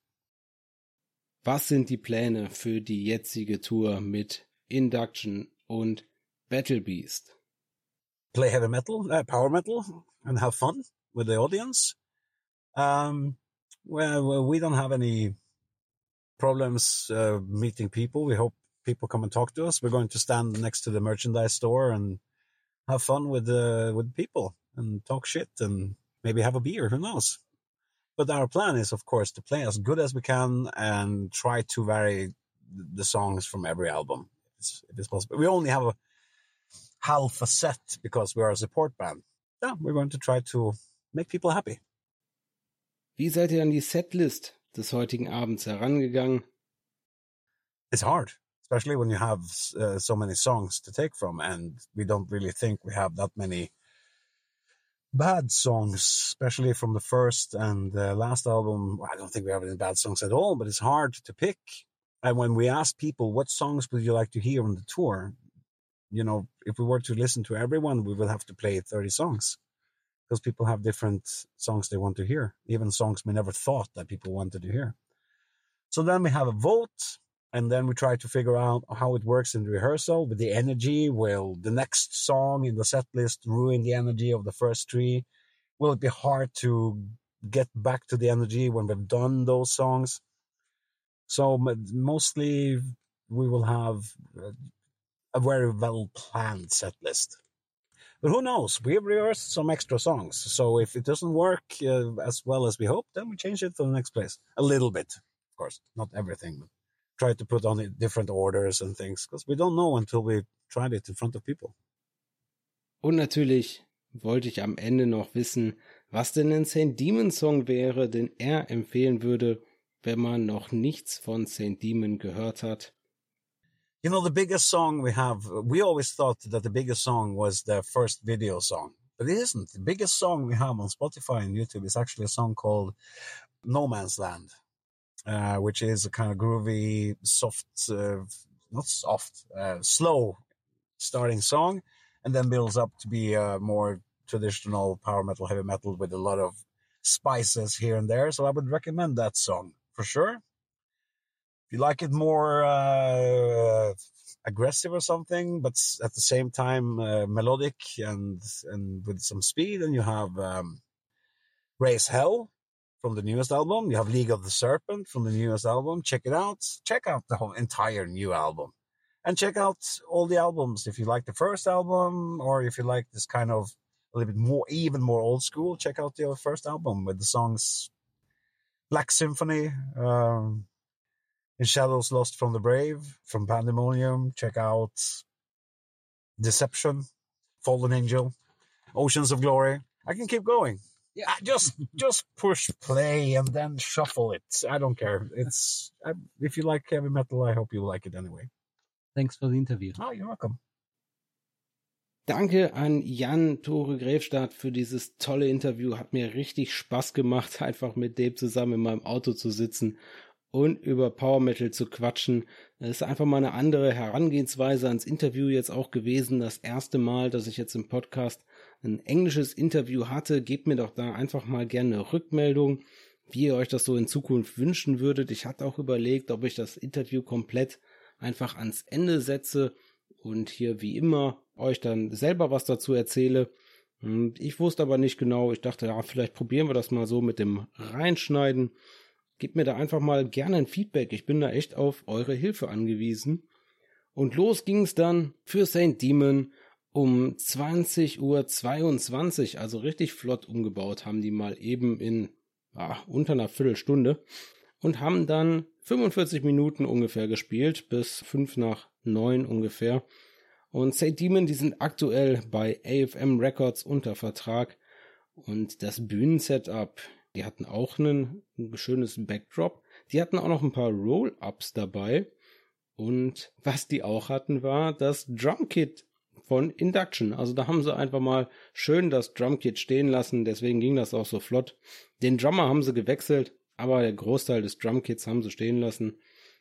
Was sind die Pläne für die jetzige Tour mit Induction und Battle Beast? Play heavy metal, uh, power metal, and have fun with the audience. Um, well, we don't have any problems uh, meeting people. We hope people come and talk to us. We're going to stand next to the merchandise store and have fun with uh, with people and talk shit and maybe have a beer. Who knows? But our plan is, of course, to play as good as we can and try to vary the songs from every album, if it's, if it's possible. We only have a half a set because we are a support band. Yeah, we're going to try to make people happy. Wie seid ihr an die Setlist des heutigen Abends herangegangen? It's hard, especially when you have uh, so many songs to take from, and we don't really think we have that many bad songs, especially from the first and uh, last album. I don't think we have any bad songs at all, but it's hard to pick. And when we ask people, what songs would you like to hear on the tour? You know, if we were to listen to everyone, we would have to play thirty songs because people have different songs they want to hear, even songs we never thought that people wanted to hear. So then we have a vote, and then we try to figure out how it works in rehearsal with the energy. Will the next song in the set list ruin the energy of the first three? Will it be hard to get back to the energy when we've done those songs? So mostly we will have a very well-planned set list. But who knows? We've rehearsed some extra songs. So if it doesn't work uh, as well as we hope, then we change it to the next place. A little bit, of course. Not everything, but try to put on different orders and things. Because we don't know until we tried it in front of people. Und natürlich wollte ich am Ende noch wissen, was denn ein Saint Demon Song wäre, den er empfehlen würde, wenn man noch nichts von Saint Demon gehört hat. You know, the biggest song we have, we always thought that the biggest song was the first video song, but it isn't. The biggest song we have on Spotify and YouTube is actually a song called No Man's Land, uh, which is a kind of groovy, soft, uh, not soft, uh, slow starting song, and then builds up to be a more traditional power metal, heavy metal with a lot of spices here and there. So I would recommend that song for sure. If you like it more uh, aggressive or something, but at the same time uh, melodic and and with some speed, and you have um, Raise Hell from the newest album. You have League of the Serpent from the newest album. Check it out. Check out the whole entire new album. And check out all the albums. If you like the first album, or if you like this kind of a little bit more, even more old school, check out the first album with the songs Black Symphony, um, In Shadows Lost from the Brave, from Pandemonium. Check out Deception, Fallen Angel, Oceans of Glory. I can keep going. Yeah, just just push play and then shuffle it. I don't care. It's I, if you like heavy metal, I hope you like it anyway. Thanks for the interview. Oh, you're welcome. Danke an Jan Tore Grefstadt für dieses tolle Interview. Hat mir richtig Spaß gemacht, einfach mit dem zusammen in meinem Auto zu sitzen und über Power Metal zu quatschen. Das ist einfach mal eine andere Herangehensweise ans Interview jetzt auch gewesen. Das erste Mal, dass ich jetzt im Podcast ein englisches Interview hatte. Gebt mir doch da einfach mal gerne eine Rückmeldung, wie ihr euch das so in Zukunft wünschen würdet. Ich hatte auch überlegt, ob ich das Interview komplett einfach ans Ende setze und hier wie immer euch dann selber was dazu erzähle. Ich wusste aber nicht genau. Ich dachte, ja, vielleicht probieren wir das mal so mit dem Reinschneiden. Gebt mir da einfach mal gerne ein Feedback. Ich bin da echt auf eure Hilfe angewiesen. Und los ging es dann für Saint Demon um zwanzig Uhr zweiundzwanzig, also richtig flott umgebaut, haben die mal eben in ah, unter einer Viertelstunde und haben dann fünfundvierzig Minuten ungefähr gespielt, bis fünf nach neun ungefähr. Und Saint Demon, die sind aktuell bei A F M Records unter Vertrag und das Bühnensetup, die hatten auch einen, ein schönes Backdrop, die hatten auch noch ein paar Roll-Ups dabei Und was die auch hatten, war das Drumkit von Induction. Also da haben sie einfach mal schön das Drumkit stehen lassen, deswegen ging das auch so flott. Den Drummer haben sie gewechselt, aber der Großteil des Drumkits haben sie stehen lassen.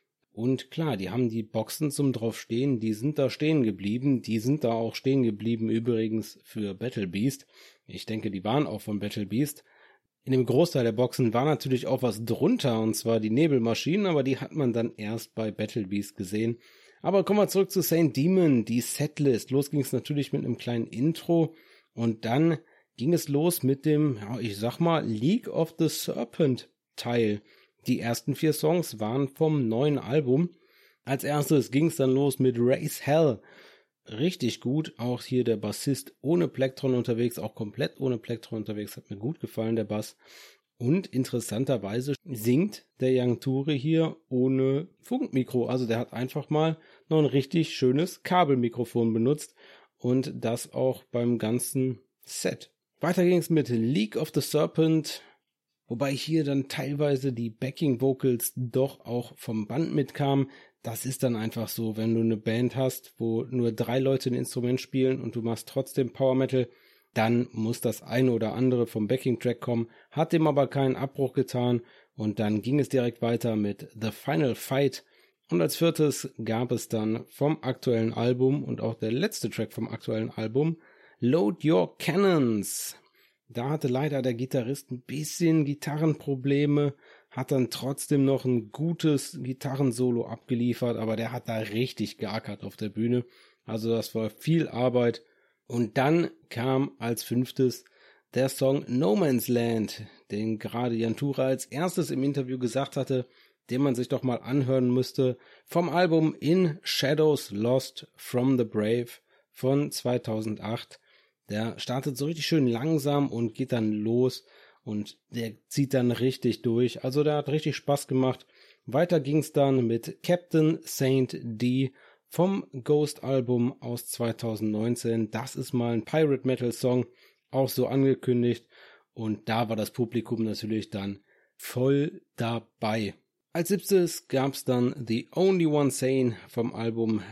Und klar, die haben die Boxen zum draufstehen, die sind da stehen geblieben, die sind da auch stehen geblieben übrigens für Battle Beast. Ich denke, die waren auch von Battle Beast. In dem Großteil der Boxen war natürlich auch was drunter, und zwar die Nebelmaschinen, aber die hat man dann erst bei Battle Beast gesehen. Aber kommen wir zurück zu Saint Demon, die Setlist. Los ging es natürlich mit einem kleinen Intro und dann ging es los mit dem, ja, ich sag mal, League of the Serpent Teil. Die ersten vier Songs waren vom neuen Album. Als erstes ging es dann los mit Raise Hell. Richtig gut, auch hier der Bassist ohne Plektron unterwegs, auch komplett ohne Plektron unterwegs, hat mir gut gefallen, der Bass. Und interessanterweise singt der Young Ture hier ohne Funkmikro, also der hat einfach mal noch ein richtig schönes Kabelmikrofon benutzt und das auch beim ganzen Set. Weiter ging es mit League of the Serpent, wobei hier dann teilweise die Backing Vocals doch auch vom Band mitkamen. Das ist dann einfach so, wenn du eine Band hast, wo nur drei Leute ein Instrument spielen und du machst trotzdem Power Metal, dann muss das eine oder andere vom Backing-Track kommen, hat dem aber keinen Abbruch getan und dann ging es direkt weiter mit The Final Fight und als viertes gab es dann vom aktuellen Album und auch der letzte Track vom aktuellen Album Load Your Cannons. Da hatte leider der Gitarrist ein bisschen Gitarrenprobleme, hat dann trotzdem noch ein gutes Gitarrensolo abgeliefert, aber der hat da richtig geackert auf der Bühne. Also das war viel Arbeit. Und dann kam als fünftes der Song No Man's Land, den gerade Jan Ture als erstes im Interview gesagt hatte, den man sich doch mal anhören müsste, vom Album In Shadows Lost from the Brave von zweitausendacht. Der startet so richtig schön langsam und geht dann los und der zieht dann richtig durch. Also der hat richtig Spaß gemacht. Weiter ging's dann mit Captain Saint D vom Ghost-Album aus zweitausendneunzehn. Das ist mal ein Pirate-Metal-Song, auch so angekündigt. Und da war das Publikum natürlich dann voll dabei. Als siebtes gab's dann The Only One Sane vom Album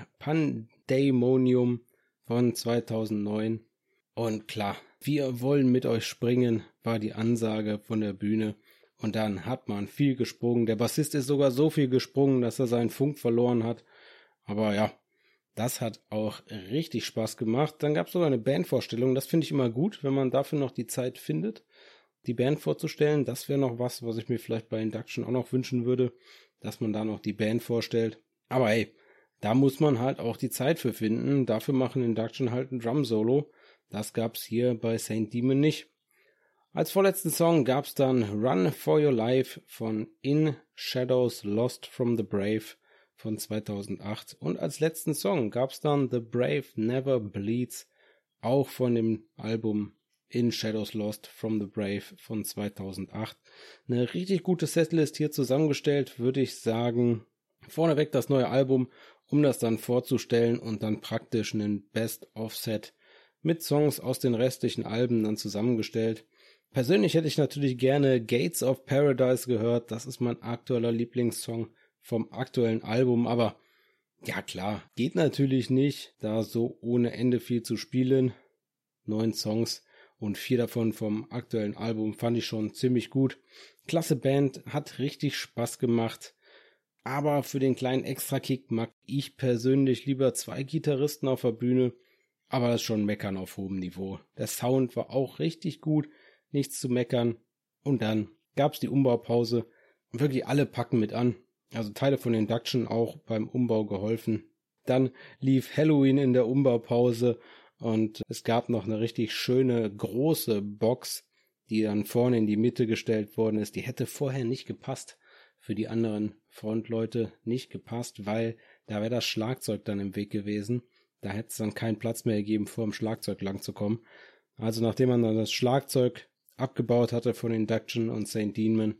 Pandemonium von zweitausendneun. Und klar, wir wollen mit euch springen, war die Ansage von der Bühne. Und dann hat man viel gesprungen. Der Bassist ist sogar so viel gesprungen, dass er seinen Funk verloren hat. Aber ja, das hat auch richtig Spaß gemacht. Dann gab es sogar eine Bandvorstellung. Das finde ich immer gut, wenn man dafür noch die Zeit findet, die Band vorzustellen. Das wäre noch was, was ich mir vielleicht bei Induction auch noch wünschen würde, dass man da noch die Band vorstellt. Aber hey, da muss man halt auch die Zeit für finden. Dafür machen Induction halt ein Drum-Solo. Das gab's hier bei Saint Demon nicht. Als vorletzten Song gab's dann Run for Your Life von In Shadows Lost from the Brave von zweitausendacht. Und als letzten Song gab's dann The Brave Never Bleeds, auch von dem Album In Shadows Lost from the Brave von zweitausendacht. Eine richtig gute Setlist hier zusammengestellt, würde ich sagen. Vorneweg das neue Album, um das dann vorzustellen und dann praktisch einen Best-of-Set mit Songs aus den restlichen Alben dann zusammengestellt. Persönlich hätte ich natürlich gerne Gates of Paradise gehört. Das ist mein aktueller Lieblingssong vom aktuellen Album. Aber ja klar, geht natürlich nicht, da so ohne Ende viel zu spielen. Neun Songs und vier davon vom aktuellen Album fand ich schon ziemlich gut. Klasse Band, hat richtig Spaß gemacht. Aber für den kleinen Extra-Kick mag ich persönlich lieber zwei Gitarristen auf der Bühne. Aber das ist schon Meckern auf hohem Niveau. Der Sound war auch richtig gut, nichts zu meckern. Und dann gab's die Umbaupause. Und wirklich alle packen mit an. Also Teile von Induction auch beim Umbau geholfen. Dann lief Halloween in der Umbaupause und es gab noch eine richtig schöne große Box, die dann vorne in die Mitte gestellt worden ist. Die hätte vorher nicht gepasst. Für die anderen Frontleute nicht gepasst, weil da wäre das Schlagzeug dann im Weg gewesen. Da hätte es dann keinen Platz mehr gegeben, vor dem Schlagzeug lang zu kommen. Also nachdem man dann das Schlagzeug abgebaut hatte von Induction und Saint Demon,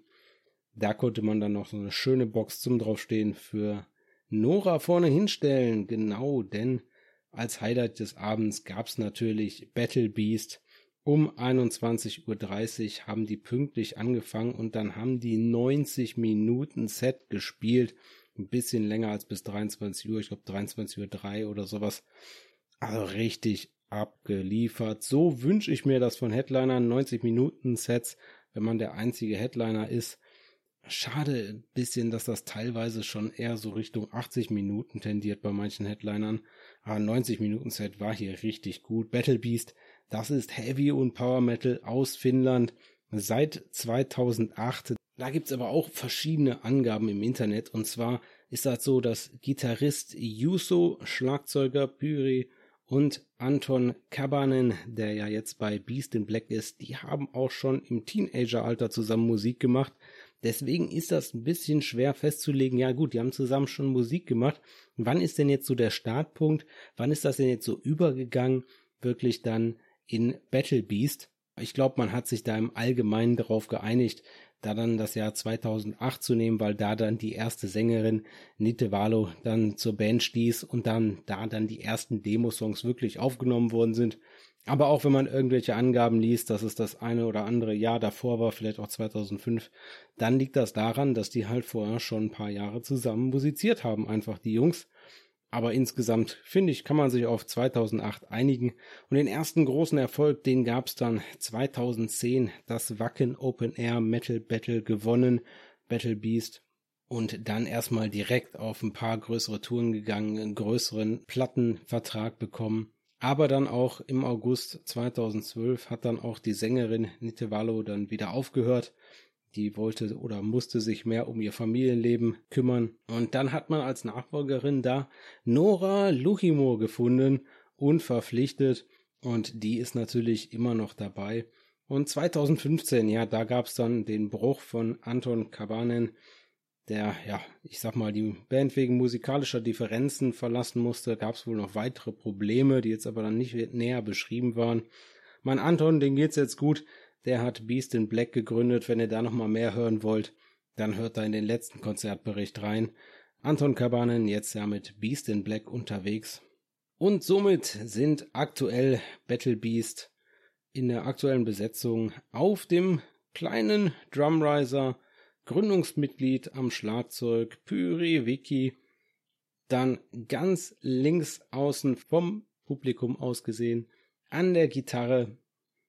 da konnte man dann noch so eine schöne Box zum draufstehen für Nora vorne hinstellen. Genau, denn als Highlight des Abends gab es natürlich Battle Beast. Um einundzwanzig Uhr dreißig haben die pünktlich angefangen und dann haben die neunzig Minuten Set gespielt ein bisschen länger als bis dreiundzwanzig Uhr, ich glaube dreiundzwanzig Uhr drei oder sowas. Also richtig abgeliefert. So wünsche ich mir das von Headlinern, neunzig Minuten Sets, wenn man der einzige Headliner ist. Schade ein bisschen, dass das teilweise schon eher so Richtung achtzig Minuten tendiert bei manchen Headlinern. Aber neunzig Minuten Set war hier richtig gut. Battle Beast, das ist Heavy und Power Metal aus Finnland seit zweitausendacht. Da gibt's aber auch verschiedene Angaben im Internet. Und zwar ist das so, dass Gitarrist Juuso, Schlagzeuger Pyri und Anton Kabanen, der ja jetzt bei Beast in Black ist, die haben auch schon im Teenageralter zusammen Musik gemacht. Deswegen ist das ein bisschen schwer festzulegen. Ja gut, die haben zusammen schon Musik gemacht. Wann ist denn jetzt so der Startpunkt? Wann ist das denn jetzt so übergegangen, wirklich dann in Battle Beast? Ich glaube, man hat sich da im Allgemeinen darauf geeinigt, da dann das Jahr zweitausendacht zu nehmen, weil da dann die erste Sängerin Nitte Valo dann zur Band stieß und dann da dann die ersten Demosongs wirklich aufgenommen worden sind. Aber auch wenn man irgendwelche Angaben liest, dass es das eine oder andere Jahr davor war, vielleicht auch zweitausendfünf, dann liegt das daran, dass die halt vorher schon ein paar Jahre zusammen musiziert haben, einfach die Jungs. Aber insgesamt, finde ich, kann man sich auf zweitausendacht einigen. Und den ersten großen Erfolg, den gab es dann zweitausendzehn, das Wacken Open Air Metal Battle gewonnen, Battle Beast. Und dann erstmal direkt auf ein paar größere Touren gegangen, einen größeren Plattenvertrag bekommen. Aber dann auch im August zweitausendzwölf hat dann auch die Sängerin Nitte Valo dann wieder aufgehört. Die wollte oder musste sich mehr um ihr Familienleben kümmern. Und dann hat man als Nachfolgerin da Noora Louhimo gefunden und verpflichtet. Und die ist natürlich immer noch dabei. Und zweitausendfünfzehn, ja, da gab es dann den Bruch von Anton Kabanen, der, ja, ich sag mal, die Band wegen musikalischer Differenzen verlassen musste. Gab es wohl noch weitere Probleme, die jetzt aber dann nicht näher beschrieben waren. Mein Anton, dem geht's jetzt gut. Der hat Beast in Black gegründet. Wenn ihr da nochmal mehr hören wollt, dann hört da in den letzten Konzertbericht rein. Anton Kabanen jetzt ja mit Beast in Black unterwegs. Und somit sind aktuell Battle Beast in der aktuellen Besetzung auf dem kleinen Drumriser Gründungsmitglied am Schlagzeug Pyri Vicky, dann ganz links außen vom Publikum aus gesehen an der Gitarre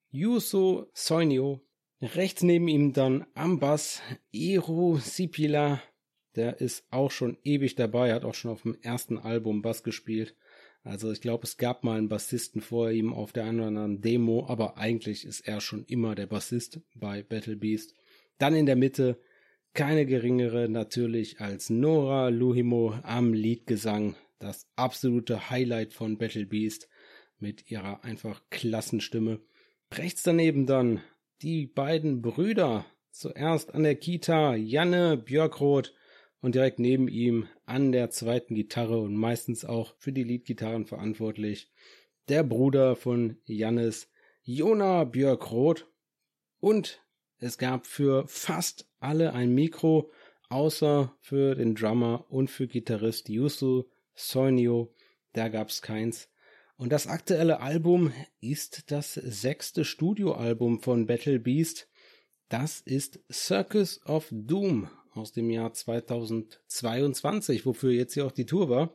Juuso Soinio, rechts neben ihm dann am Bass Eero Sipilä, der ist auch schon ewig dabei, hat auch schon auf dem ersten Album Bass gespielt. Also ich glaube, es gab mal einen Bassisten vor ihm auf der einen oder anderen Demo, aber eigentlich ist er schon immer der Bassist bei Battle Beast. Dann in der Mitte keine geringere natürlich als Noora Louhimo am Leadgesang, das absolute Highlight von Battle Beast mit ihrer einfach Klassenstimme. Rechts daneben dann die beiden Brüder, zuerst an der Kita Janne Björkroth und direkt neben ihm an der zweiten Gitarre und meistens auch für die Leadgitarren verantwortlich der Bruder von Jannes, Jona Björkroth. Und es gab für fast alle ein Mikro, außer für den Drummer und für Gitarrist Juuso Soinio, da gab es keins. Und das aktuelle Album ist das sechste Studioalbum von Battle Beast. Das ist Circus of Doom aus dem Jahr zweitausendzweiundzwanzig, wofür jetzt hier auch die Tour war.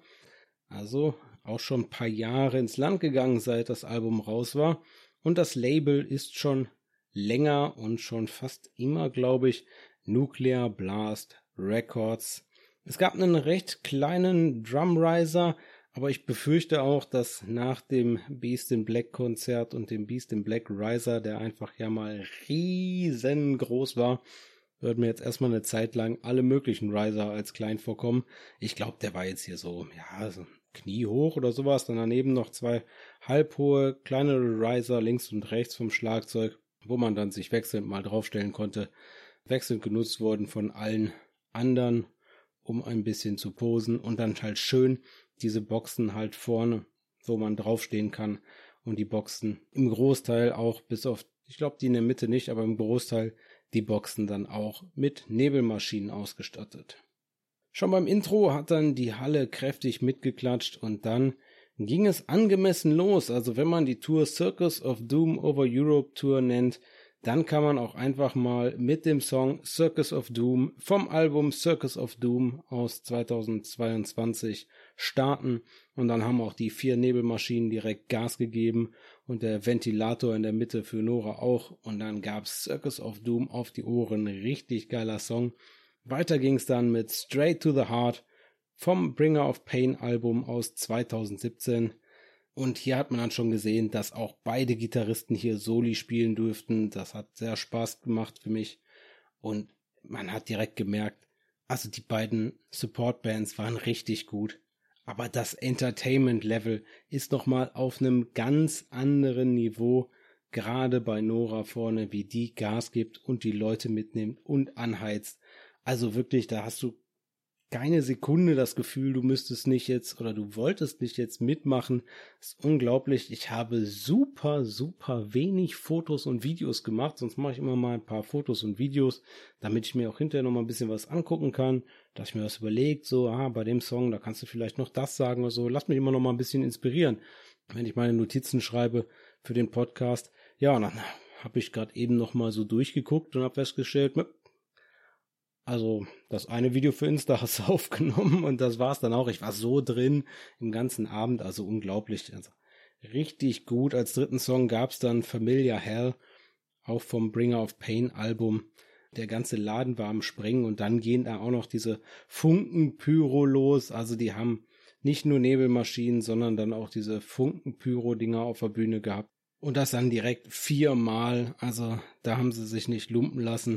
Also auch schon ein paar Jahre ins Land gegangen, seit das Album raus war. Und das Label ist schon länger und schon fast immer, glaube ich, Nuclear Blast Records. Es gab einen recht kleinen Drumriser, aber ich befürchte auch, dass nach dem Beast in Black Konzert und dem Beast in Black Riser, der einfach ja mal riesengroß war, wird mir jetzt erstmal eine Zeit lang alle möglichen Riser als klein vorkommen. Ich glaube, der war jetzt hier so, ja, so Knie hoch oder sowas. Dann daneben noch zwei halbhohe, kleinere Riser links und rechts vom Schlagzeug, wo man dann sich wechselnd mal draufstellen konnte. Wechselnd genutzt wurden von allen anderen, um ein bisschen zu posen. Und dann halt schön diese Boxen halt vorne, wo man draufstehen kann. Und die Boxen im Großteil auch, bis auf, ich glaube die in der Mitte nicht, aber im Großteil die Boxen dann auch mit Nebelmaschinen ausgestattet. Schon beim Intro hat dann die Halle kräftig mitgeklatscht und dann ging es angemessen los. Also wenn man die Tour Circus of Doom over Europe Tour nennt, dann kann man auch einfach mal mit dem Song Circus of Doom vom Album Circus of Doom aus zweitausendzweiundzwanzig starten. Und dann haben auch die vier Nebelmaschinen direkt Gas gegeben und der Ventilator in der Mitte für Nora auch. Und dann gab's Circus of Doom auf die Ohren. Richtig geiler Song. Weiter ging's dann mit Straight to the Heart vom Bringer of Pain Album aus zweitausendsiebzehn. Und hier hat man dann schon gesehen, dass auch beide Gitarristen hier Soli spielen durften. Das hat sehr Spaß gemacht für mich. Und man hat direkt gemerkt, also die beiden Support-Bands waren richtig gut. Aber das Entertainment-Level ist nochmal auf einem ganz anderen Niveau. Gerade bei Nora vorne, wie die Gas gibt und die Leute mitnimmt und anheizt. Also wirklich, da hast du keine Sekunde das Gefühl, du müsstest nicht jetzt oder du wolltest nicht jetzt mitmachen. Das ist unglaublich. Ich habe super, super wenig Fotos und Videos gemacht. Sonst mache ich immer mal ein paar Fotos und Videos, damit ich mir auch hinterher noch mal ein bisschen was angucken kann. Dass ich mir was überlegt, so, ah, bei dem Song, da kannst du vielleicht noch das sagen oder so. Lass mich immer noch mal ein bisschen inspirieren, wenn ich meine Notizen schreibe für den Podcast. Ja, und dann habe ich gerade eben noch mal so durchgeguckt und habe festgestellt, also das eine Video für Insta hast du aufgenommen und das war's dann auch. Ich war so drin im ganzen Abend, also unglaublich. Also richtig gut. Als dritten Song gab's dann Familiar Hell, auch vom Bringer of Pain Album. Der ganze Laden war am Sprengen und dann gehen da auch noch diese Funkenpyro los. Also die haben nicht nur Nebelmaschinen, sondern dann auch diese Funkenpyro-Dinger auf der Bühne gehabt. Und das dann direkt viermal. Also da haben sie sich nicht lumpen lassen.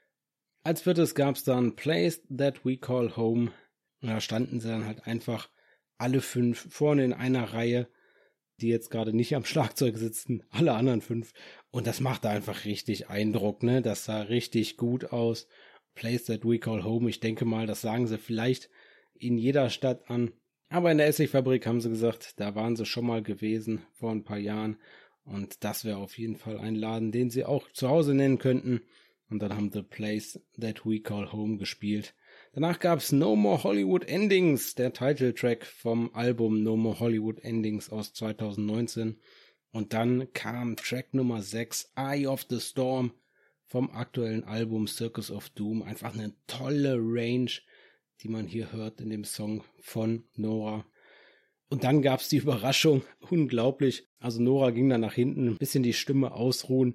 Als viertes gab's dann Place That We Call Home. Und da standen sie dann halt einfach alle fünf vorne in einer Reihe, die jetzt gerade nicht am Schlagzeug sitzen, alle anderen fünf. Und das machte einfach richtig Eindruck, ne? Das sah richtig gut aus. Place That We Call Home, ich denke mal, das sagen sie vielleicht in jeder Stadt an. Aber in der Essigfabrik haben sie gesagt, da waren sie schon mal gewesen vor ein paar Jahren. Und das wäre auf jeden Fall ein Laden, den sie auch zu Hause nennen könnten. Und dann haben The Place That We Call Home gespielt. Danach gab's No More Hollywood Endings, der Titeltrack vom Album No More Hollywood Endings aus zweitausendneunzehn. Und dann kam Track Nummer sechs, Eye of the Storm, vom aktuellen Album Circus of Doom. Einfach eine tolle Range, die man hier hört in dem Song von Nora. Und dann gab's die Überraschung, unglaublich. Also Nora ging dann nach hinten, ein bisschen die Stimme ausruhen.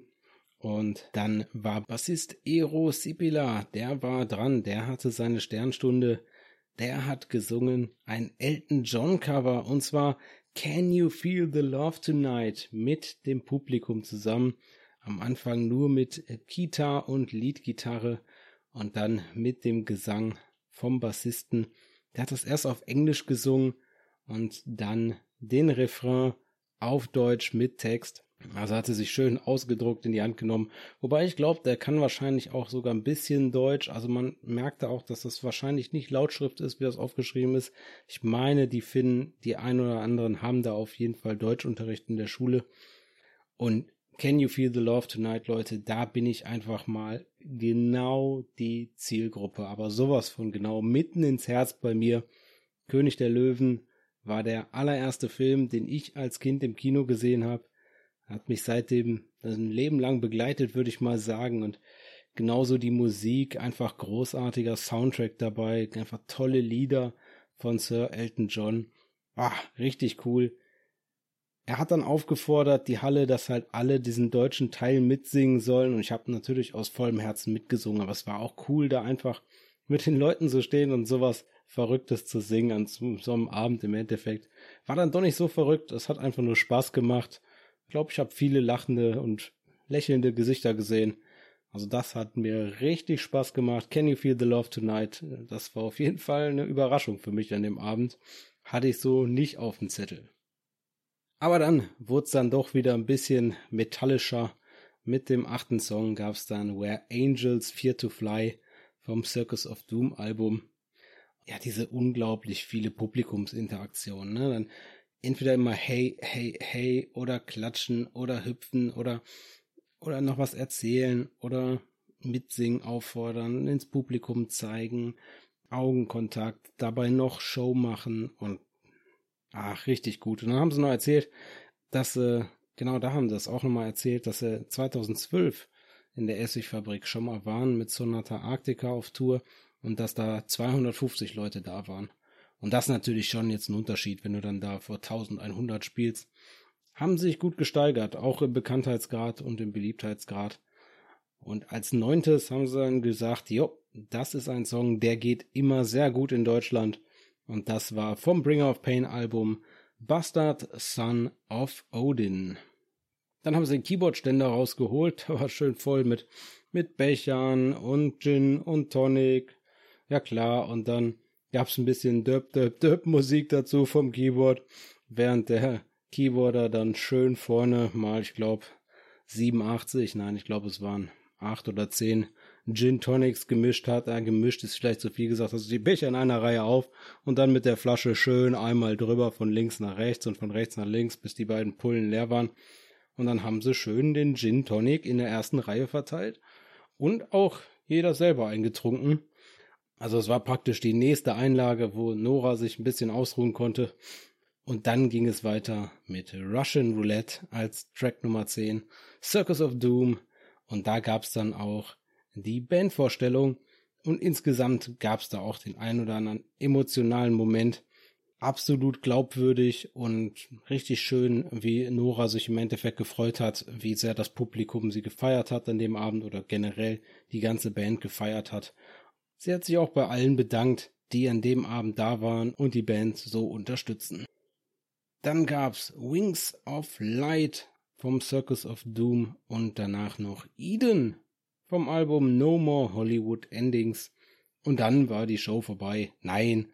Und dann war Bassist Eero Sipilä, der war dran, der hatte seine Sternstunde, der hat gesungen ein Elton John Cover und zwar Can You Feel the Love Tonight mit dem Publikum zusammen. Am Anfang nur mit Kita und Leadgitarre und dann mit dem Gesang vom Bassisten. Der hat das erst auf Englisch gesungen und dann den Refrain auf Deutsch mit Text. Also hat sie sich schön ausgedruckt in die Hand genommen. Wobei ich glaube, der kann wahrscheinlich auch sogar ein bisschen Deutsch. Also man merkte auch, dass das wahrscheinlich nicht Lautschrift ist, wie das aufgeschrieben ist. Ich meine, die Finnen, die ein oder anderen haben da auf jeden Fall Deutschunterricht in der Schule. Und Can You Feel the Love Tonight, Leute, da bin ich einfach mal genau die Zielgruppe. Aber sowas von genau mitten ins Herz bei mir. König der Löwen war der allererste Film, den ich als Kind im Kino gesehen habe. Hat mich seitdem ein Leben lang begleitet, würde ich mal sagen. Und genauso die Musik, einfach großartiger Soundtrack dabei, einfach tolle Lieder von Sir Elton John. Ah, richtig cool. Er hat dann aufgefordert, die Halle, dass halt alle diesen deutschen Teil mitsingen sollen. Und ich habe natürlich aus vollem Herzen mitgesungen. Aber es war auch cool, da einfach mit den Leuten zu stehen und sowas Verrücktes zu singen an so einem Abend im Endeffekt. War dann doch nicht so verrückt. Es hat einfach nur Spaß gemacht. Ich glaube, ich habe viele lachende und lächelnde Gesichter gesehen. Also das hat mir richtig Spaß gemacht. Can You Feel the Love Tonight? Das war auf jeden Fall eine Überraschung für mich an dem Abend. Hatte ich so nicht auf dem Zettel. Aber dann wurde es dann doch wieder ein bisschen metallischer. Mit dem achten Song gab es dann Where Angels Fear to Fly vom Circus of Doom Album. Ja, diese unglaublich viele Publikumsinteraktionen, ne? Dann entweder immer hey, hey, hey oder klatschen oder hüpfen oder, oder noch was erzählen oder mitsingen, auffordern, ins Publikum zeigen, Augenkontakt, dabei noch Show machen und ach, richtig gut. Und dann haben sie noch erzählt, dass, äh, genau da haben sie das auch nochmal erzählt, dass sie zweitausendzwölf in der Essigfabrik schon mal waren mit Sonata Arctica auf Tour und dass da zweihundertfünfzig Leute da waren. Und das ist natürlich schon jetzt ein Unterschied, wenn du dann da vor eintausendeinhundert spielst. Haben sich gut gesteigert, auch im Bekanntheitsgrad und im Beliebtheitsgrad. Und als neuntes haben sie dann gesagt, jo, das ist ein Song, der geht immer sehr gut in Deutschland. Und das war vom Bringer of Pain Album Bastard Son of Odin. Dann haben sie den Keyboardständer rausgeholt, der war schön voll mit, mit Bechern und Gin und Tonic. Ja klar, und dann gab's ein bisschen Döp-Döp-Döp-Musik dazu vom Keyboard, während der Keyboarder dann schön vorne mal, ich glaube, siebenundachtzig, nein, ich glaube, es waren acht oder zehn Gin Tonics gemischt hat. Ja, gemischt ist vielleicht zu viel gesagt, also die Becher in einer Reihe auf und dann mit der Flasche schön einmal drüber von links nach rechts und von rechts nach links, bis die beiden Pullen leer waren. Und dann haben sie schön den Gin Tonic in der ersten Reihe verteilt und auch jeder selber eingetrunken. Also es war praktisch die nächste Einlage, wo Nora sich ein bisschen ausruhen konnte. Und dann ging es weiter mit Russian Roulette als Track Nummer zehn, Circus of Doom. Und da gab es dann auch die Bandvorstellung. Und insgesamt gab es da auch den ein oder anderen emotionalen Moment. Absolut glaubwürdig und richtig schön, wie Nora sich im Endeffekt gefreut hat, wie sehr das Publikum sie gefeiert hat an dem Abend oder generell die ganze Band gefeiert hat. Sie hat sich auch bei allen bedankt, die an dem Abend da waren und die Band so unterstützen. Dann gab's Wings of Light vom Circus of Doom und danach noch Eden vom Album No More Hollywood Endings. Und dann war die Show vorbei. Nein,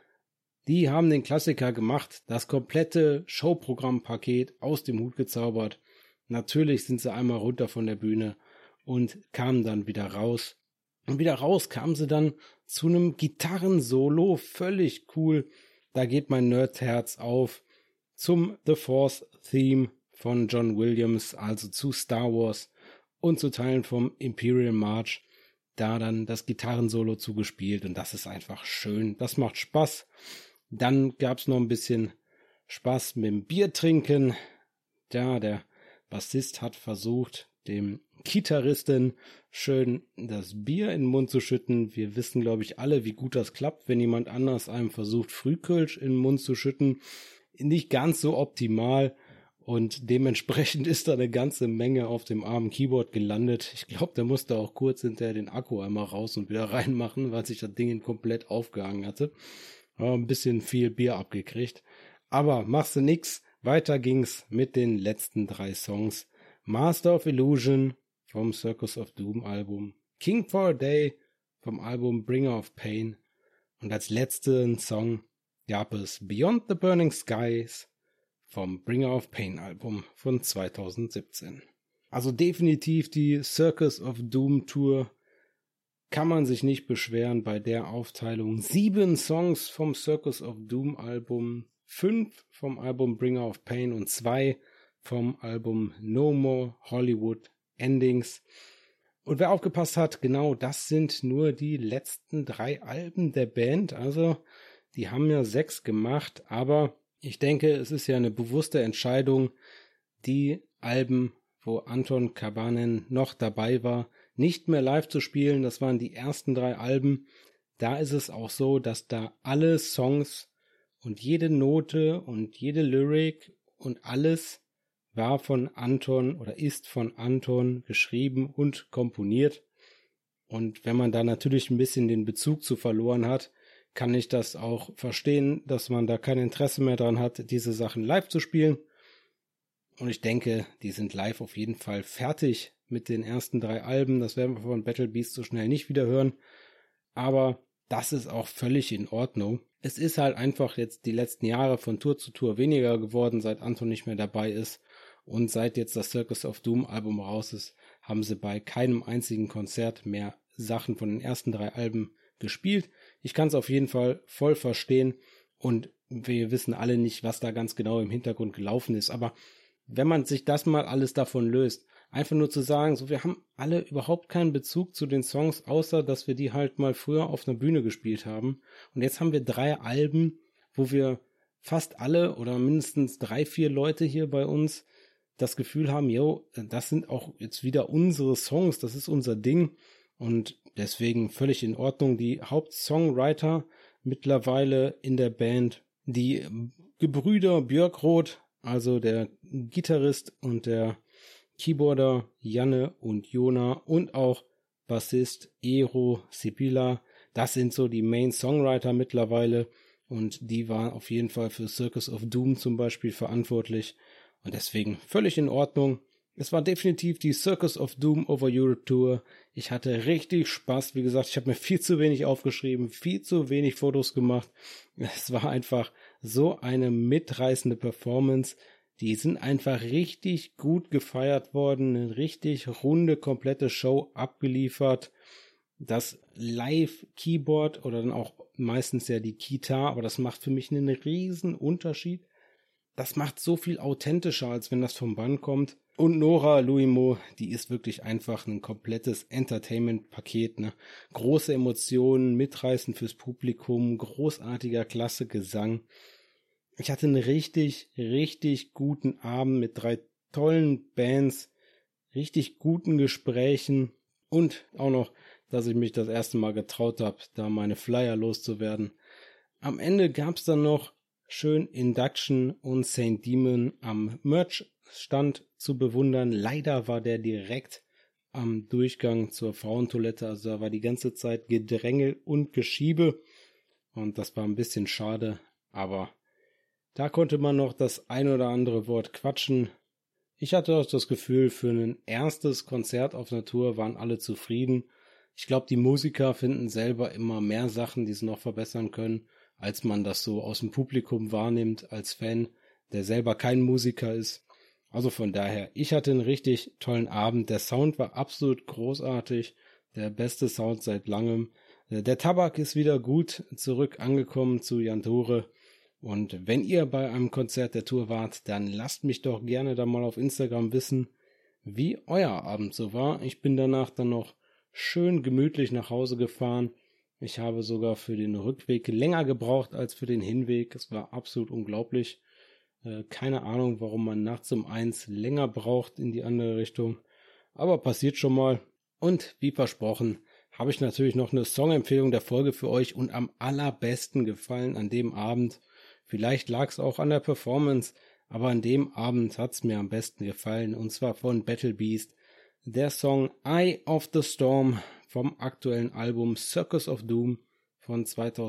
die haben den Klassiker gemacht, das komplette Showprogrammpaket aus dem Hut gezaubert. Natürlich sind sie einmal runter von der Bühne und kamen dann wieder raus. Und wieder raus kamen sie dann zu einem Gitarrensolo, völlig cool. Da geht mein Nerdherz auf zum The Force Theme von John Williams, also zu Star Wars und zu Teilen vom Imperial March. Da dann das Gitarrensolo zugespielt und das ist einfach schön. Das macht Spaß. Dann gab's noch ein bisschen Spaß mit dem Biertrinken. Ja, der Bassist hat versucht, dem Gitarristen schön das Bier in den Mund zu schütten. Wir wissen, glaube ich, alle, wie gut das klappt, wenn jemand anders einem versucht, Frühkölsch in den Mund zu schütten. Nicht ganz so optimal und dementsprechend ist da eine ganze Menge auf dem armen Keyboard gelandet. Ich glaube, der musste auch kurz hinterher den Akku einmal raus und wieder reinmachen, weil sich das Ding komplett aufgehangen hatte. Ja, ein bisschen viel Bier abgekriegt. Aber machst du nix. Weiter ging's mit den letzten drei Songs. Master of Illusion vom Circus of Doom Album, King for a Day vom Album Bringer of Pain und als letzten Song gab es Beyond the Burning Skies vom Bringer of Pain Album von zweitausendsiebzehn. Also definitiv die Circus of Doom Tour, kann man sich nicht beschweren bei der Aufteilung. Sieben Songs vom Circus of Doom Album, fünf vom Album Bringer of Pain und zwei vom Album No More Hollywood Endings. Und wer aufgepasst hat, genau das sind nur die letzten drei Alben der Band. Also die haben ja sechs gemacht, aber ich denke, es ist ja eine bewusste Entscheidung, die Alben, wo Anton Kabanen noch dabei war, nicht mehr live zu spielen. Das waren die ersten drei Alben. Da ist es auch so, dass da alle Songs und jede Note und jede Lyric und alles war von Anton oder ist von Anton geschrieben und komponiert. Und wenn man da natürlich ein bisschen den Bezug zu verloren hat, kann ich das auch verstehen, dass man da kein Interesse mehr dran hat, diese Sachen live zu spielen. Und ich denke, die sind live auf jeden Fall fertig mit den ersten drei Alben. Das werden wir von Battle Beast so schnell nicht wieder hören. Aber das ist auch völlig in Ordnung. Es ist halt einfach jetzt die letzten Jahre von Tour zu Tour weniger geworden, seit Anton nicht mehr dabei ist. Und seit jetzt das Circus of Doom Album raus ist, haben sie bei keinem einzigen Konzert mehr Sachen von den ersten drei Alben gespielt. Ich kann es auf jeden Fall voll verstehen und wir wissen alle nicht, was da ganz genau im Hintergrund gelaufen ist. Aber wenn man sich das mal alles davon löst, einfach nur zu sagen, so wir haben alle überhaupt keinen Bezug zu den Songs, außer dass wir die halt mal früher auf einer Bühne gespielt haben. Und jetzt haben wir drei Alben, wo wir fast alle oder mindestens drei, vier Leute hier bei uns das Gefühl haben, yo, das sind auch jetzt wieder unsere Songs, das ist unser Ding und deswegen völlig in Ordnung. Die Hauptsongwriter mittlerweile in der Band, die Gebrüder Björkroth, also der Gitarrist und der Keyboarder Janne und Jona und auch Bassist Eero Sipilä, das sind so die Main Songwriter mittlerweile und die waren auf jeden Fall für Circus of Doom zum Beispiel verantwortlich und deswegen völlig in Ordnung. Es war definitiv die Circus of Doom Over Europe Tour. Ich hatte richtig Spaß. Wie gesagt, ich habe mir viel zu wenig aufgeschrieben, viel zu wenig Fotos gemacht. Es war einfach so eine mitreißende Performance. Die sind einfach richtig gut gefeiert worden. Eine richtig runde, komplette Show abgeliefert. Das Live-Keyboard oder dann auch meistens ja die Gitarre, aber das macht für mich einen riesen Unterschied. Das macht so viel authentischer, als wenn das vom Band kommt. Und Nora Luimo, die ist wirklich einfach ein komplettes Entertainment-Paket, ne? Große Emotionen, mitreißend fürs Publikum, großartiger, klasse Gesang. Ich hatte einen richtig, richtig guten Abend mit drei tollen Bands, richtig guten Gesprächen und auch noch, dass ich mich das erste Mal getraut habe, da meine Flyer loszuwerden. Am Ende gab's dann noch schön Induction und Saint Demon am Merch-Stand zu bewundern. Leider war der direkt am Durchgang zur Frauentoilette, also da war die ganze Zeit Gedrängel und Geschiebe und das war ein bisschen schade, aber da konnte man noch das ein oder andere Wort quatschen. Ich hatte auch das Gefühl, für ein erstes Konzert auf einer Tour waren alle zufrieden. Ich glaube, die Musiker finden selber immer mehr Sachen, die sie noch verbessern können, als man das so aus dem Publikum wahrnimmt als Fan, der selber kein Musiker ist. Also von daher, ich hatte einen richtig tollen Abend. Der Sound war absolut großartig, der beste Sound seit langem. Der Tabak ist wieder gut zurück angekommen zu Jan Tore. Und wenn ihr bei einem Konzert der Tour wart, dann lasst mich doch gerne da mal auf Instagram wissen, wie euer Abend so war. Ich bin danach dann noch schön gemütlich nach Hause gefahren. Ich habe sogar für den Rückweg länger gebraucht als für den Hinweg. Es war absolut unglaublich. Äh, keine Ahnung, warum man nachts um eins länger braucht in die andere Richtung. Aber passiert schon mal. Und wie versprochen, habe ich natürlich noch eine Songempfehlung der Folge für euch und am allerbesten gefallen an dem Abend. Vielleicht lag es auch an der Performance, aber an dem Abend hat es mir am besten gefallen und zwar von Battle Beast. Der Song Eye of the Storm vom aktuellen Album Circus of Doom von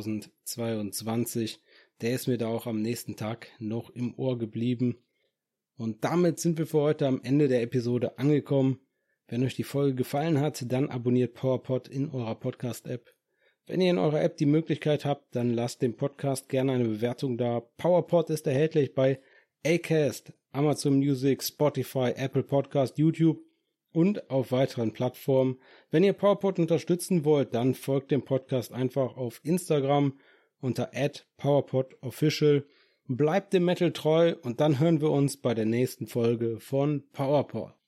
zweitausendzweiundzwanzig. Der ist mir da auch am nächsten Tag noch im Ohr geblieben. Und damit sind wir für heute am Ende der Episode angekommen. Wenn euch die Folge gefallen hat, dann abonniert PowerPod in eurer Podcast-App. Wenn ihr in eurer App die Möglichkeit habt, dann lasst dem Podcast gerne eine Bewertung da. PowerPod ist erhältlich bei Acast, Amazon Music, Spotify, Apple Podcast, YouTube und auf weiteren Plattformen. Wenn ihr PowerPod unterstützen wollt, dann folgt dem Podcast einfach auf Instagram unter at PowerPodOfficial. Bleibt dem Metal treu und dann hören wir uns bei der nächsten Folge von PowerPod.